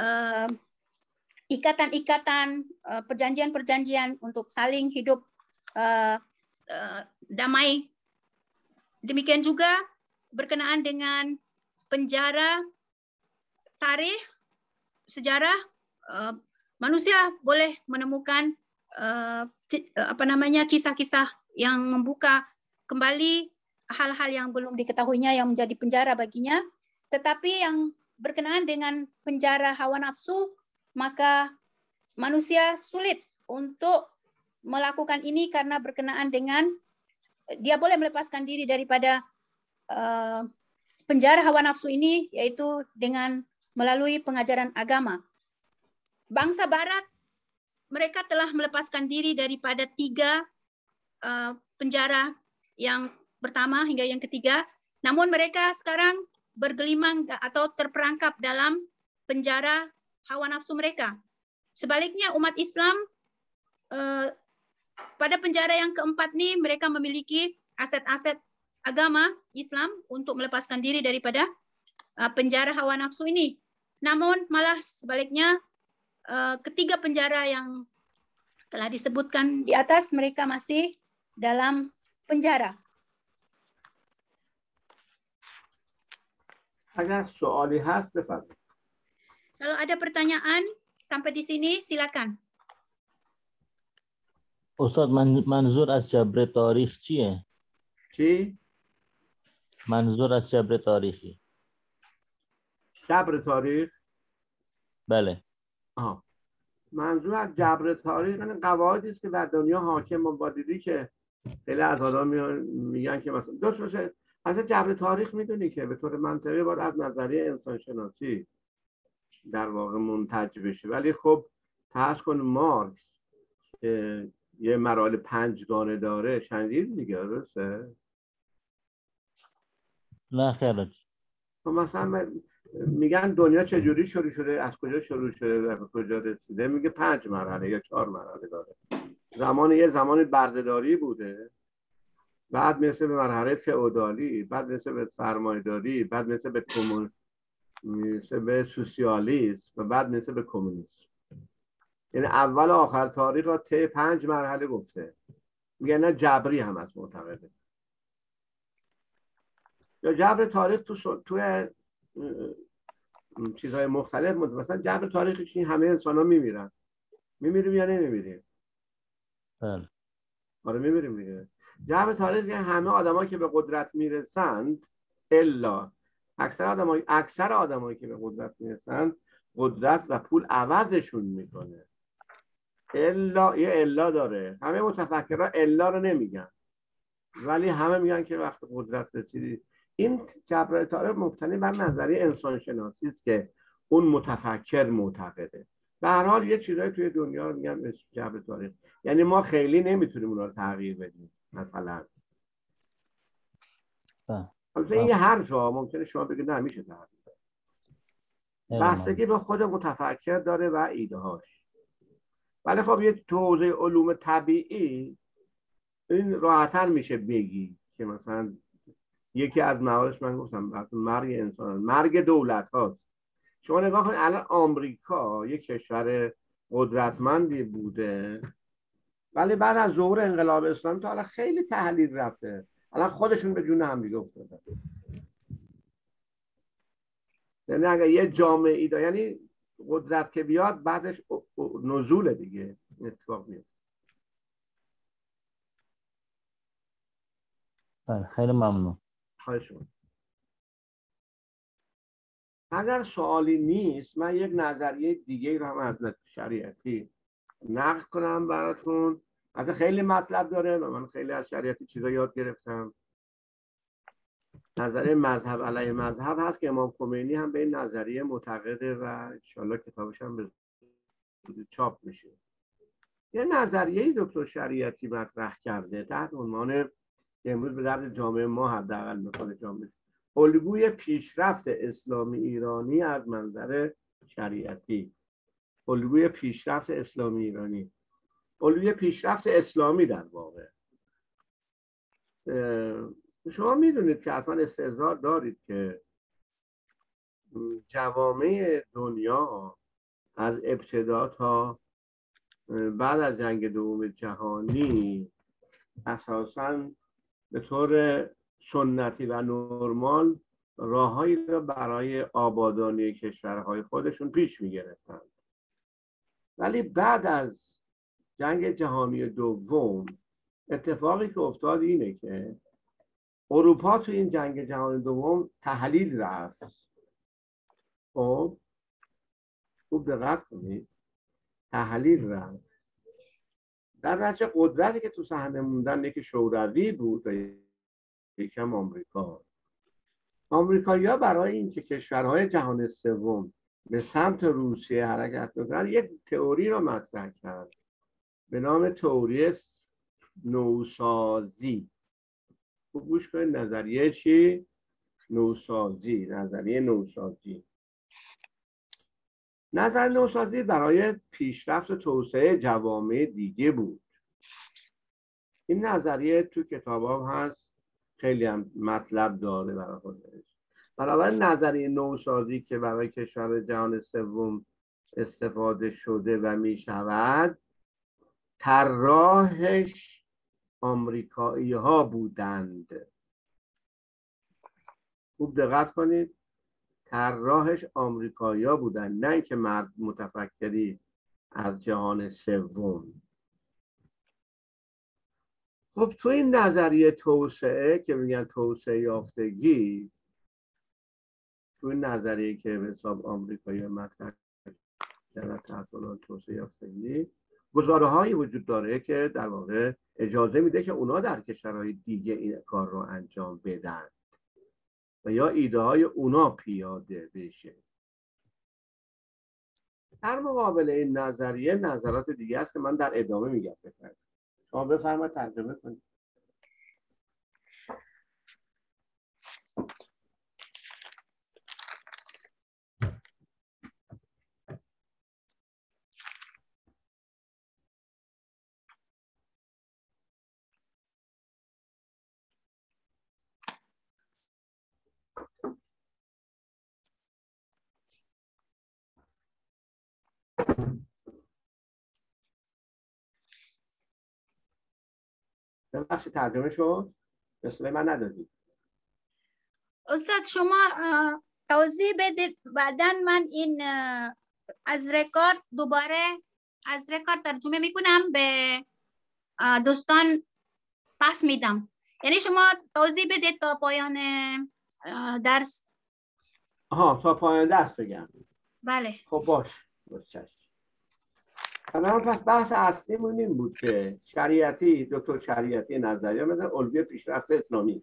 ikatan-ikatan, uh, uh, perjanjian-perjanjian untuk saling hidup uh, uh, damai. Demikian juga berkenaan dengan penjara tarikh, sejarah, uh, manusia boleh menemukan uh, apa namanya kisah-kisah yang membuka kembali hal-hal yang belum diketahuinya yang menjadi penjara baginya. Tetapi yang berkenaan dengan penjara hawa nafsu, maka manusia sulit untuk melakukan ini karena berkenaan dengan dia boleh melepaskan diri daripada uh, penjara hawa nafsu ini, yaitu dengan melalui pengajaran agama. Bangsa Barat, mereka telah melepaskan diri daripada tiga uh, penjara yang pertama hingga yang ketiga, namun mereka sekarang bergelimang atau terperangkap dalam penjara hawa nafsu mereka. Sebaliknya umat Islam eh, pada penjara yang keempat ini mereka memiliki aset-aset agama Islam untuk melepaskan diri daripada eh, penjara hawa nafsu ini. namun malah sebaliknya ketiga penjara yang telah disebutkan di atas mereka masih dalam penjara. اگر سوالی هست بفرمایید. Kalau ada pertanyaan sampai di sini silakan. Ustaz, manzur از جبر تاریخ چیه؟ چی؟ منظور از جبر تاریخی. جبر تاریخ؟ بله. آها. منظور از جبر تاریخ این قواعدی است که بر دنیا حاکم با دیدی که خیلی از آدم میگن که مثلا دوست باشه اصلا جبر تاریخ میدونی که به طور منطقی باید از نظریه انسان شناسی در واقع منتج بشه، ولی خب فرض کن مارکس که یه مراحل پنجگانه داره شنیدید دیگه، درسته؟ نه خیلی. مثلا میگن دنیا چجوری شروع شده، از کجا شروع شده و به کجا رسیده، میگه پنج مرحله یا چهار مرحله داره. زمان یه زمان بردهداری بوده، بعد میرسه به مرحله فئودالی، بعد میرسه به سرمایه‌داری، بعد میرسه به کمون میرسه به سوسیالیسم و بعد میرسه به کمونیسم. یعنی اول و آخر تاریخ را طی پنج مرحله گفته. میگن نه جبری هم از معتقده. یا جبر تاریخ تو توی چیزهای مختلف مثلا جبر تاریخی چی همه انسان ها میمیرن. میمیریم یا نمیمیریم؟ بله. آره میمیریم دیگه. جبر تاریخی همه آدمایی که به قدرت میرسند الا اکثر آدمایی اکثر آدمایی که به قدرت میرسند قدرت و پول عوضشون میکنه. الا یه الا داره. همه متفکرها الا رو نمیگن، ولی همه میگن که وقت قدرت رسیدی. این جبر تاریخ مبتنی بر نظریه انسان شناسی است که اون متفکر معتقده. به هر حال یه چیزایی توی دنیا رو میگن به جبر تاریخ، یعنی ما خیلی نمیتونیم اون رو تغییر بدیم. مثلا البته این یه حرفه، ممکنه شما بگید نه میشه تغییر بدیم. بستگی به خود متفکر داره و ایده هاش. ولی خب یه توضیح علوم طبیعی این راحت‌تر میشه بگی که مثلا یکی از مواردش من گفتم مرگ انسان، مرگ دولت هاست. شما نگاه کنید الان آمریکا یک کشور قدرتمندی بوده، ولی بعد از ظهور انقلاب اسلامی تا حالا خیلی تحلیل رفته، الان خودشون به جون هم دیگه افتادن. یعنی اگر یه جامعه ای داره، یعنی قدرت که بیاد بعدش نزول دیگه اتفاق میفته. خیلی ممنون. خواهش می‌کنم. اگر سوالی نیست من یک نظریه دیگه رو هم از شریعتی نقل کنم براتون. البته خیلی مطلب داره و من خیلی از شریعتی چیزا یاد گرفتم. نظریه مذهب علیه مذهب هست که امام خمینی هم به این نظریه معتقده و انشالله کتابش هم به چاپ میشه. یه نظریه دکتر شریعتی مطرح کرده تحت عنوان که امروز به درد جامعه ما حداقل میخوره جامعه الگوی پیشرفت اسلامی ایرانی از منظر شریعتی. الگوی پیشرفت اسلامی ایرانی، الگوی پیشرفت اسلامی در واقع. شما میدونید که حتما استحضار دارید که جوامع دنیا از ابتدا تا بعد از جنگ دوم جهانی اساساً به طور سنتی و نرمال راههایی را برای آبادانی کشورهای خودشون پیش می‌گرفتند. ولی بعد از جنگ جهانی دوم اتفاقی که افتاد اینه که اروپا تو این جنگ جهانی دوم تحلیل رفت. خب خوب دقت کنید، تحلیل رفت. در نتیجه قدرتی که تو صحنه موندن یکی شوروی بود و یکم آمریکا. آمریکایی‌ها برای اینکه کشورهای جهان سوم به سمت روسیه حرکت بکنن یک تئوری رو مطرح کرد به نام تئوری نوسازی. خوب گوش کنید، نظریه چی؟ نوسازی. نظریه نوسازی. نظر نوسازی برای پیشرفت و توسعه جوامع دیگه بود. این نظریه تو کتاب هم هست، خیلی هم مطلب داره برای خودش. بنابراین نظریه نوسازی که برای کشور جهان سوم استفاده شده و می شود، طراحش آمریکایی ها بودند. خوب دقت کنید، طراحش آمریکایی ها بودند، نه اینکه مرد متفکری از جهان سوم. خب تو این نظریه توسعه که میگن توسعه یافتگی، تو این نظریه که به حساب آمریکایی مطرح کردن تحت عنوان توسعه یافتگی، گزاره‌هایی وجود داره که در واقع اجازه میده که اونا در کشورهای دیگه این کار رو انجام بدن و یا ایده های اونا پیاده بشه. در مقابل این نظریه نظرات دیگه هست که من در ادامه میگم. شما بفرمایید ترجمه کنید. بخش ترجمه شد؟ مثل من ندادید. استاد شما توضیح بدید، بعداً من این از رکورد دوباره از رکورد ترجمه میکنم به دوستان پس میدم. یعنی شما توضیح بدید تا پایان درس. آها تا پایان درس بگم. بله. خب باش. باش. الان پس بحث اصلیمون این بود که شریعتی، دکتر شریعتی نظریه مثلا الگوی پیشرفت اسلامی.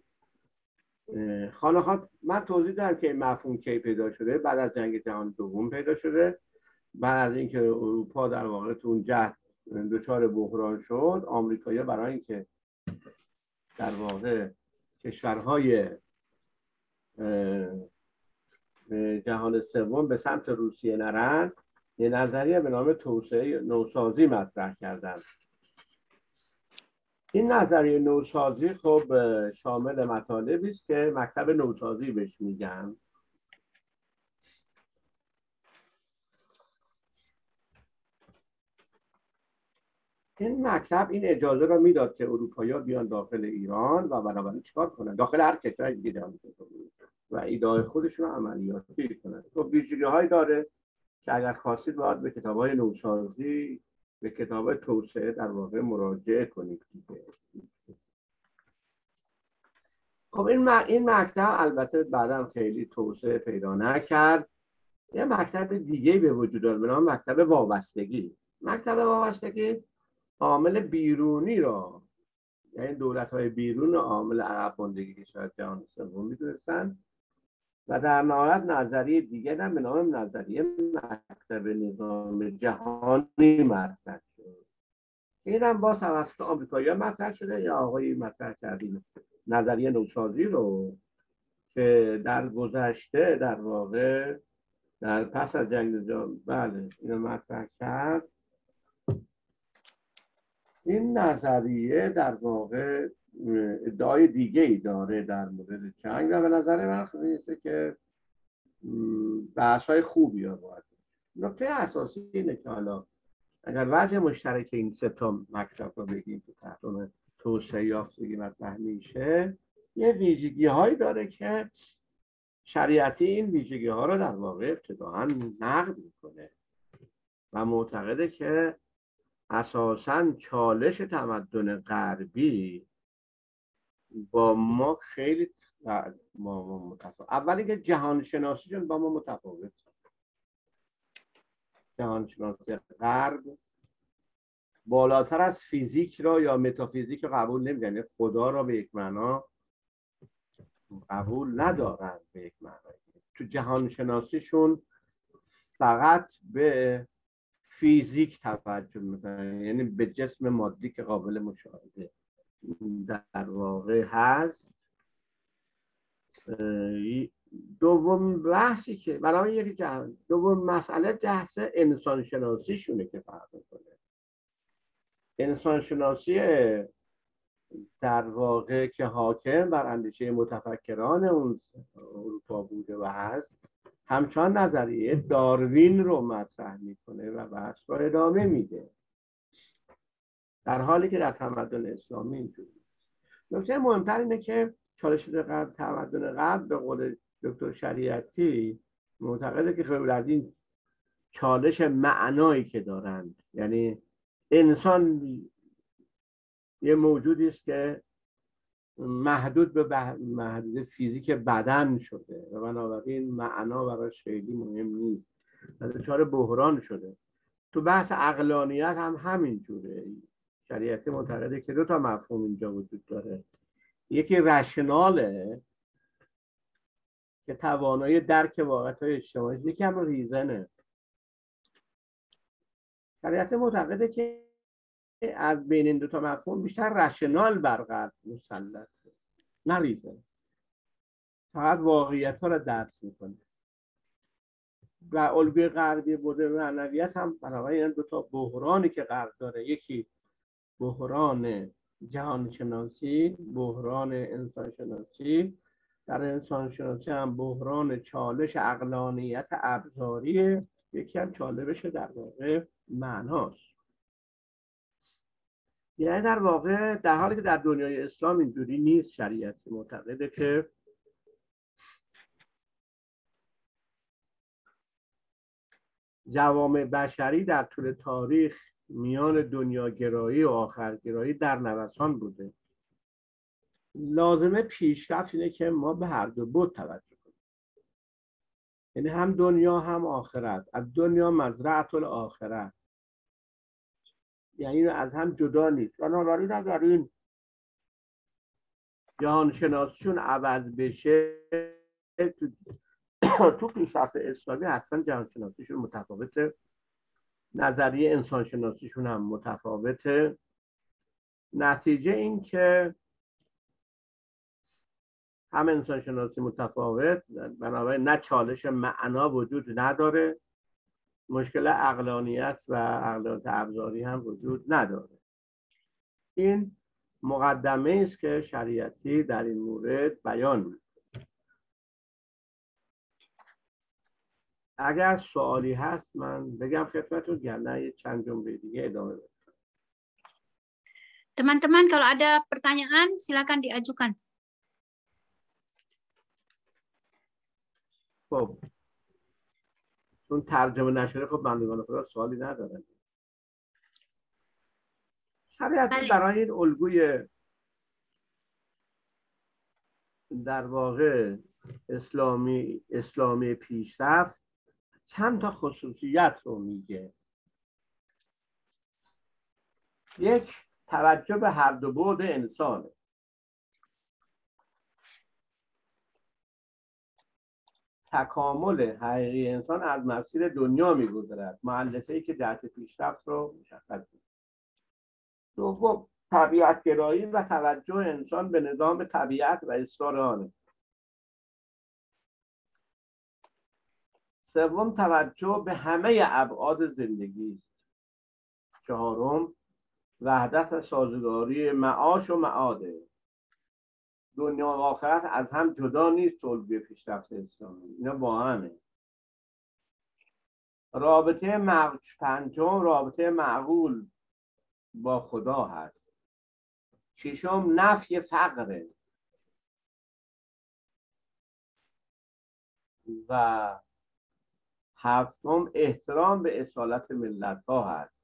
خانه من توضیح دادم که این مفهوم کی پیدا شده، بعد از جنگ جهانی دوم پیدا شده، بعد از اینکه اروپا در واقع تو اون جهت دچار بحران شد، آمریکایی‌ها برای اینکه در واقع کشورهای جهان سوم به سمت روسیه نرن، یه نظریه به نام توسعه نوسازی مطرح کردن. این نظریه نوسازی خب شامل مطالبی است که مکتب نوسازی بهش میگن. این مکتب این اجازه رو میداد که اروپایی‌ها بیان داخل ایران و بنابراین چیکار کنن؟ داخل هر کشور دیگه و ایده خودشون رو عملیاتی کنن. خب ویژگی‌هایی داره که اگر خواستید باید به کتاب‌های نوسازی، به کتاب‌های توسعه در واقع مراجعه کنید. خب این این مکتب البته بعداً خیلی توسعه پیدا نکرد. یه مکتب دیگه به وجود آمد به نام مکتب وابستگی. مکتب وابستگی عامل بیرونی را، یعنی دولت‌های بیرون عامل عقب ماندگی که شاید جهان سوم می‌دونستن و در نهایت نظریه دیگه هم به نام نظریه مکتب نظام جهانی مطرح شد. این هم باز توسط آمریکایی‌ها مطرح شده یا آقایی مطرح کردیم نظریه نوسازی رو که در گذشته در واقع در پس از جنگ جهانی بله اینو مطرح کرد. این نظریه در واقع ادعای دیگه ای داره در مورد جنگ و به نظر من خیلیه که بحث‌های خوبی ها باید. نکته اساسی اینه که حالا اگر وجه مشترک این سه تا مکتب رو بگیم که تحت عنوان توسعه یافتگی مطرح میشه، یه ویژگی هایی داره که شریعتی این ویژگی ها رو در واقع ابتداعاً نقد میکنه و معتقده که اساساً چالش تمدن غربی با ما خیلی با ما متفاوت. اولی که جهان شناسیشون با ما متفاوت. جهان شناسی غرب بالاتر از فیزیک را یا متافیزیک را قبول نمی‌کنه، خدا را به یک معنا قبول ندارن به یک معنا. تو جهان شناسیشون فقط به فیزیک توجه میکنن، یعنی به جسم مادی که قابل مشاهده در واقع هست. دوم بحثی که برای یکی جهان دوم مسئله بحث انسان شناسی شونه که فرق میکنه. انسان شناسی در واقع که حاکم بر اندیشه متفکران اون اروپا بوده و هست، همچنان نظریه داروین رو مطرح میکنه و بحث رو ادامه میده، در حالی که در تمدن اسلامی اینجوری. نکته مهمتر اینه که چالش غرب، تمدن غرب به قول دکتر شریعتی معتقده که غیر از این چالش معنایی که دارند، یعنی انسان یه موجودی است که محدود به محدود فیزیک بدن شده و بنابراین معنا براش خیلی مهم نیست و دچار بحران شده. تو بحث عقلانیت هم همین جوره. شریعتی معتقده که دو تا مفهوم اینجا وجود داره، یکی رشناله که توانایی درک واقعیت‌های اجتماعی، یکی هم ریزنه. شریعتی معتقده که از بین این دو تا مفهوم بیشتر رشنال بر غرب مسلطه، نه ریزن، فقط واقعیت ها را درک میکنه. و الگوی غربی بوده معنویت هم بنابراین این دو تا بحرانی که غرب داره، یکی بحران جهان شناسی، بحران انسان شناسی، در انسان شناسی هم بحران چالش عقلانیت ابزاری، یکی هم چالش در واقع معناست. یعنی در واقع در حالی که در دنیای اسلام اینجوری نیست، شریعتی معتقده که جوامع بشری در طول تاریخ میان دنیاگرایی و آخرگرایی در نوسان بوده. لازمه پیشرفت اینه که ما به هر دو بود توجه کنیم، یعنی هم دنیا هم آخرت. از دنیا مزرعة الاخره، یعنی از هم جدا نیست. بنابراین اگر این جهان شناسیشون عوض بشه، تو, تو پیشرفت اسلامی حتما جهان شناسیشون متفاوته، نظریه انسان شناسیشون هم متفاوته. نتیجه این که هم انسان شناسی متفاوت، بنابراین نه چالش معنا وجود نداره، مشکل عقلانیت و عقلانیت ابزاری هم وجود نداره. این مقدمه است که شریعتی در این مورد بیان می‌کنه. اگر سوالی هست من بگم خدمتتون، یا نه یه چند جمله دیگه ادامه بدم. Teman-teman, kalau ada pertanyaan silakan diajukan. خب چون ترجمه نشده، خب بندگان خدا سوالی ندارن. شریعتی برای این الگوی در واقع اسلامی اسلامی پیشرفت چند تا خصوصیت رو میگه. یک، توجه به هر دو بعد انسانه. تکامل حقیقی انسان از مسیر دنیا میگذرد، مؤلفه‌ای که جهت پیشرفت رو مشخص می‌کنه. دوم، طبیعت گرایی و توجه انسان به نظام طبیعت و اصرار آنه. سوم، توجه به همه ابعاد زندگی است. چهارم، وحدت و سازگاری معاش و معاده. دنیا و آخرت از هم جدا نیست. الگوی پیشرفت اسلامی اینا با همه. رابطه مع... پنجم، رابطه معقول با خدا هست. ششم، نفی فقره. و هفتم، احترام به اصالت ملت ها هست.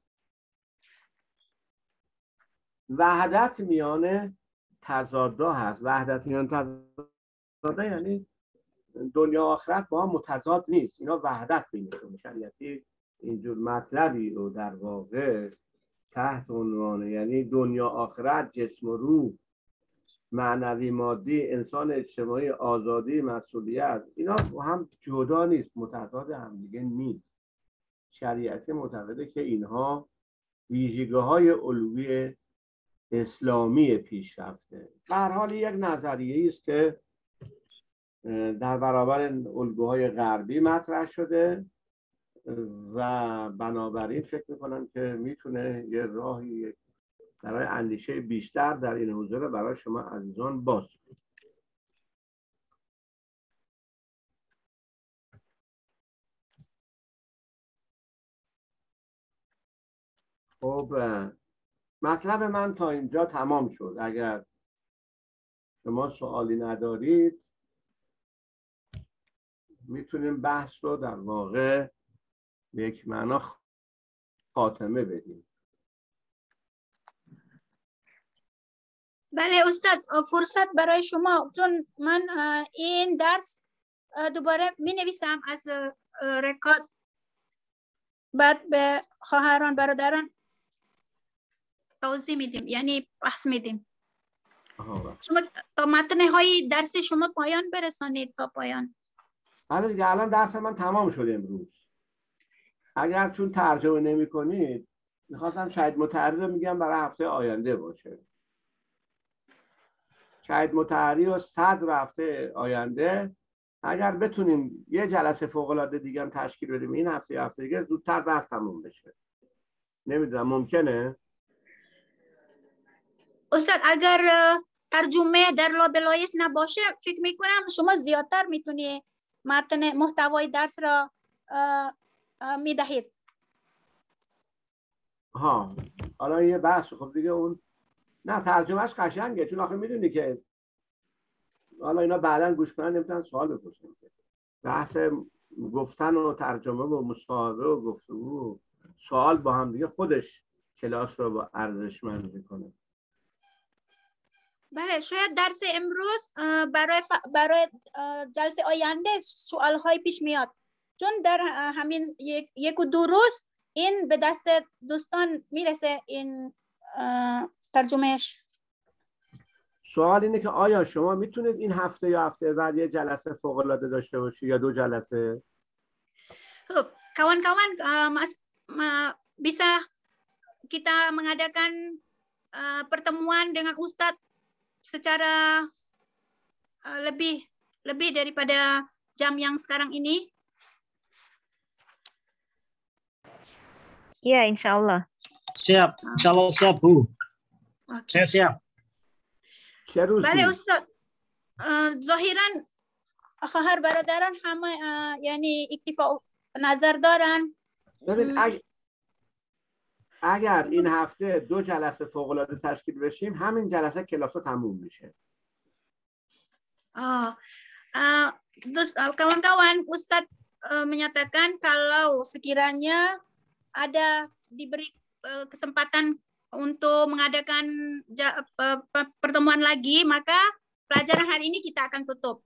وحدت میان تضادها هست. وحدت میان تضادها یعنی دنیا آخرت با هم متضاد نیست، اینا وحدت بینشون. شریعتی اینجور مطلبی رو در واقع تحت عنوان یعنی دنیا آخرت، جسم و روح، معنوی مادی، انسان اجتماعی، آزادی، مسئولیت، اینا با هم جدا نیست، متضاد هم دیگه نیست. شریعتی معتقده که اینها ویژگی‌های الگوی اسلامی پیشرفته. به هر حال یک نظریه است که در برابر الگوهای غربی مطرح شده و بنابراین فکر میکنم که میتونه یه راهی برای اندیشه بیشتر در این حوزه برای شما عزیزان باز. خب مطلب من تا اینجا تمام شد. اگر شما سوالی ندارید میتونیم بحث رو در واقع به یک معنا خاتمه بدیم. بله استاد، فرصت برای شما، چون من این درس دوباره می نویسم از رکورد، بعد به خواهران برادران توضیح میدیم، یعنی بحث میدیم. شما تا متن های درس شما پایان برسانید تا پایان. بله دیگه، الان درس من تمام شده امروز. اگر چون ترجمه نمی کنید میخواستم شهید مطهری رو میگم برای هفته آینده باشه. شهید مطهری و صدر هفته آینده اگر بتونیم یه جلسه فوق العاده دیگه هم تشکیل بدیم این هفته یا هفته دیگه زودتر بحث تموم بشه. نمیدونم ممکنه؟ استاد اگر ترجمه در لابلایس نباشه فکر میکنم شما زیادتر میتونی متن محتوای درس را میدهید. ها حالا یه بحث. خب دیگه اون نه ترجمهش قشنگه، چون آخه میدونی که حالا اینا بعداً گوش کنن نمیتونن سوال بپرسن. بحث گفتن و ترجمه و مصاحبه و گفتگو سوال با هم دیگه خودش کلاس رو با ارزشمند میکنه. بله شاید درس امروز برای برای جلسه آینده سوال های پیش میاد، چون در همین یک, یک و دو روز این به دست دوستان میرسه این ترجمهش. سوال اینه که آیا شما میتونید این هفته یا هفته بعد یه جلسه فوق العاده داشته باشی یا دو جلسه؟ خب kawan-kawan uh, bisa kita mengadakan uh, pertemuan dengan Ustadz secara uh, lebih lebih daripada jam yang sekarang ini? Ya, insya Allah. Siap, insya Allah siap Bu. Okay. Saya siap. بله استاد، ظاهرا خواهر برادران همه یعنی اکتفا نظر دارن. ببین اگر, اگر این هفته دو جلسه فوق العاده تشکیل بشیم همین جلسه کلاس تموم میشه. Oh, uh, terus kawan-kawan Ustadz uh, menyatakan kalau sekiranya ada diberi uh, kesempatan untuk mengadakan pertemuan lagi, maka pelajaran hari ini kita akan tutup.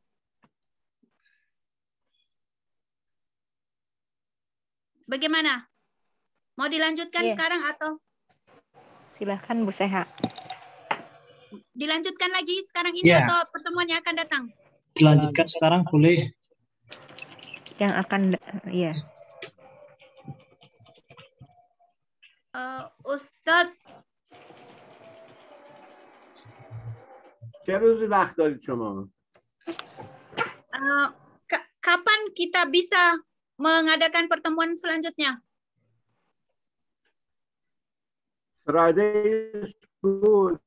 Bagaimana? Mau dilanjutkan yeah. sekarang atau? Silahkan Bu Seha. Dilanjutkan lagi sekarang ini yeah. atau pertemuannya akan datang? Dilanjutkan sekarang boleh. Yang akan, ya. Yeah. Uh, Ustadz, چه روزی وقت دارید شما؟ Uh, kapan kita bisa mengadakan pertemuan selanjutnya? Friday good.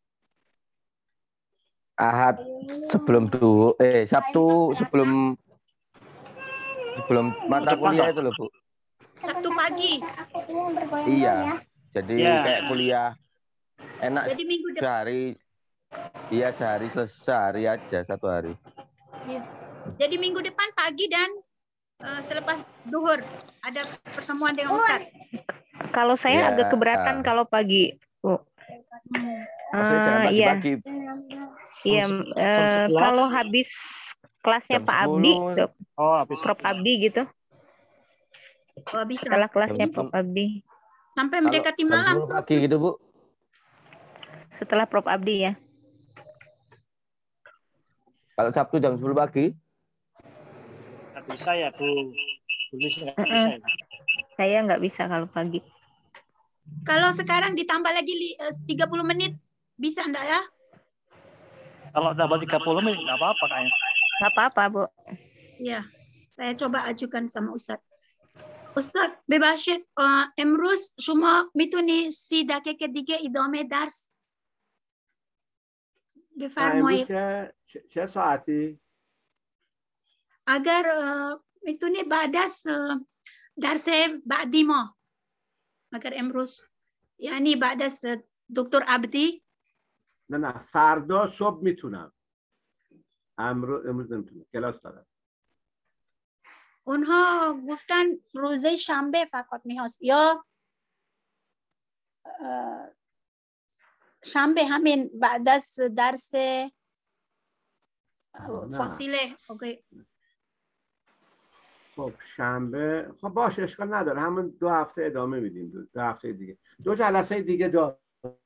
Ahad sebelum duhur, eh Sabtu sebelum sebelum mata kuliah itu loh Bu. Sabtu pagi. Iya, jadi ya. Kayak kuliah enak. Jadi minggu depan. Sehari, iya sehari selesai sehari aja satu hari. Ya. Jadi minggu depan pagi dan uh, selepas duhur ada pertemuan dengan Ustadz. Kalau saya ya. agak keberatan kalau pagi, Bu. Hmm. Maksudnya jangan pagi-pagi. Iya, uh, kalau habis kelasnya Jam Pak Abdi, oh, habis Prof Abdi gitu. Oh, bisa. Setelah kelasnya Prof Abdi. Sampai mendekati malam. Pagi gitu Bu. Setelah Prof Abdi ya. Kalau Sabtu jam sepuluh pagi? Nggak bisa ya Bu. Bisa, nggak bisa ya. Saya nggak bisa kalau pagi. Kalau sekarang ditambah lagi tiga puluh menit, bisa enggak ya? Kalau tambah tiga puluh menit, nggak apa-apa kayaknya. Nggak apa-apa, Bu. Iya, saya coba ajukan sama Ustadz. استاد ببخشید امروز شما میتونی سی دقیقه دیگه ادامه درس بفرمایید. امروز که چه ساعتی؟ اگر میتونی بعد از درس بعدی ما، اگر امروز یعنی بعد از دکتر عبدی. نه نه فردا صبح میتونم. امروز امروز نمیتونم، کلاس دارم. اونها گفتن روزه شنبه فقط میهست یا شنبه همین بعد از درس فاصله. اوکی. خب شنبه خب باشه اشکال نداره، همون دو هفته ادامه میدیم. دو, دو هفته دیگه دو جلسه دیگه داریم.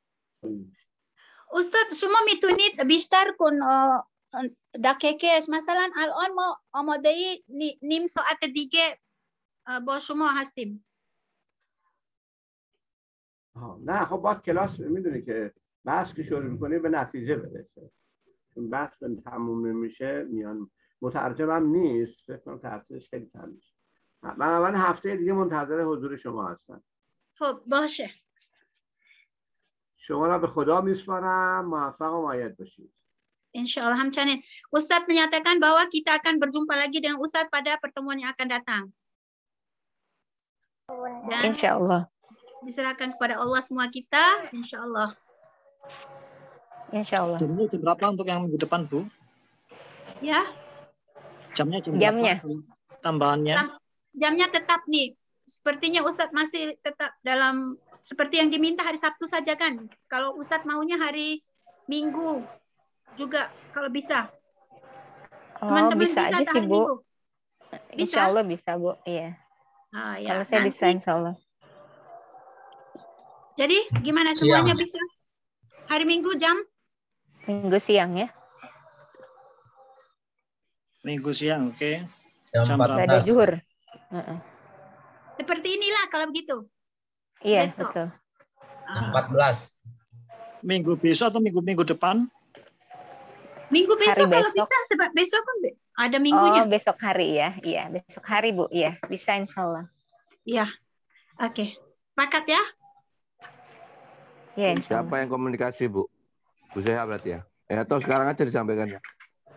استاد شما میتونید بیشتر کن دقیقه، مثلا الان ما آماده نیم ساعت دیگه با شما هستیم. نه خب باید کلاس میدونی که بحث که شروع میکنی به نتیجه برسه، چون بحث به تموم نمیشه میان مترجمم نیست، فکر کنم تاثیرش خیلی کم میشه. من اول هفته دیگه منتظر حضور شما هستم. خب باشه. شما را به خدا میسپارم، موفق و مؤید باشید. Insya Allah hamcanin. Ustadz menyatakan bahwa kita akan berjumpa lagi dengan Ustadz pada pertemuan yang akan datang. Dan Insya Allah. Diserahkan kepada Allah semua kita, insya Allah. Insya Allah. Jamnya jam berapa untuk yang minggu depan, Bu? Ya. Jamnya jam Jamnya. berapa? Tambahannya? Jamnya tetap nih. Sepertinya Ustadz masih tetap dalam seperti yang diminta hari Sabtu saja kan. Kalau Ustadz maunya hari Minggu juga kalau bisa. Teman-teman oh, bisa, bisa aja sih, Bu. Minggu? Bisa? Insya Allah bisa, Bu. Iya. Oh, ya. Kalau saya Nanti, bisa, insya Allah. Jadi gimana semuanya siang. Bisa? Hari Minggu jam? Minggu siang ya. Minggu siang, oke. Okay. Jam empat belas. Ada zuhur. Uh-uh. Seperti inilah kalau begitu. Iya, besok. betul. empat belas. Minggu besok atau minggu-minggu depan? Minggu besok, hari kalau besok. bisa, sebab besok kan ada minggunya. Oh, besok hari ya. Iya, besok hari, Bu. Iya, bisa insya Allah. Iya. Oke. Okay. Pakat ya? Iya, insya Allah. Siapa yang komunikasi, Bu? Bu Seha berarti ya? Eh, atau sekarang aja disampaikan ya?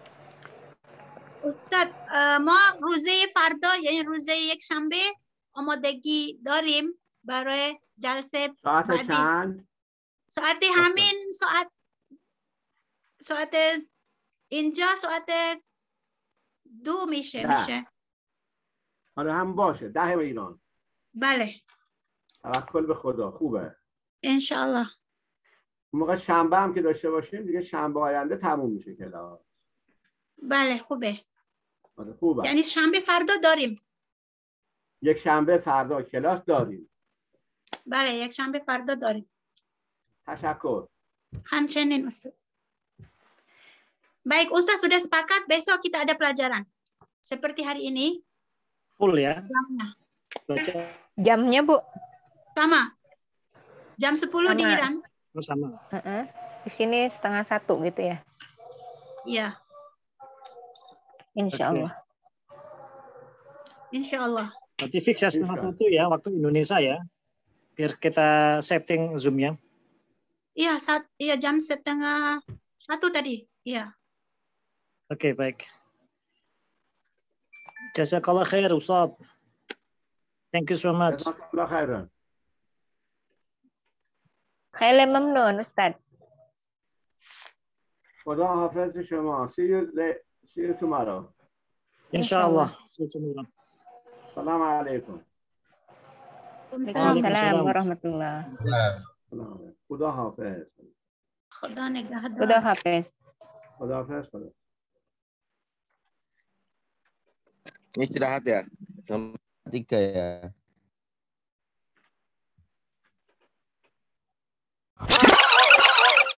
Ustadz, ما روزه فردا یعنی روزه یک شنبه آمادگی داریم برای جلسه ساعت بعدی. چند؟ ساعت همین ساعت ساعت اینجا ساعت دو میشه ده. میشه. آره هم باشه، ده به ایران. بله. توکل به خدا. خوبه. انشالله. موقع شنبه هم که داشته باشیم دیگه شنبه آینده تموم میشه کلاس. بله خوبه. آره خوبه. یعنی شنبه فردا داریم. یک شنبه فردا کلاس داریم. بله یک شنبه فردا داریم. تشکر. همچنین Ustaz. Baik Ustaz, sudah sepakat besok kita ada pelajaran. Seperti hari ini. Full ya? Jamnya. Jamnya, Bu? Sama. Jam sepuluh sama. di Iran. Oh, sama. Uh-uh. Di sini setengah satu gitu ya? Iya. Insya Allah. Okay. Insya Allah. Berarti fix ya setengah satu ya waktu Indonesia ya. Biar kita setting Zoom-nya. Iya, saat, iya jam setengah satu tadi. Iya. Oke, okay, baik. Jazakallah khair, Ustaz. Thank you so much. Jazakallah khairan. خیلی ممنون استاد. خدا حافظ شما. See you, see you tomorrow. Inshallah. See you tomorrow. Assalamu alaikum. Waalaikumsalam warahmatullah. خدا حافظ. خدا نگهدار. خدا حافظ. خدا حافظ. خدا. Ini istirahat ya? Tiga ya.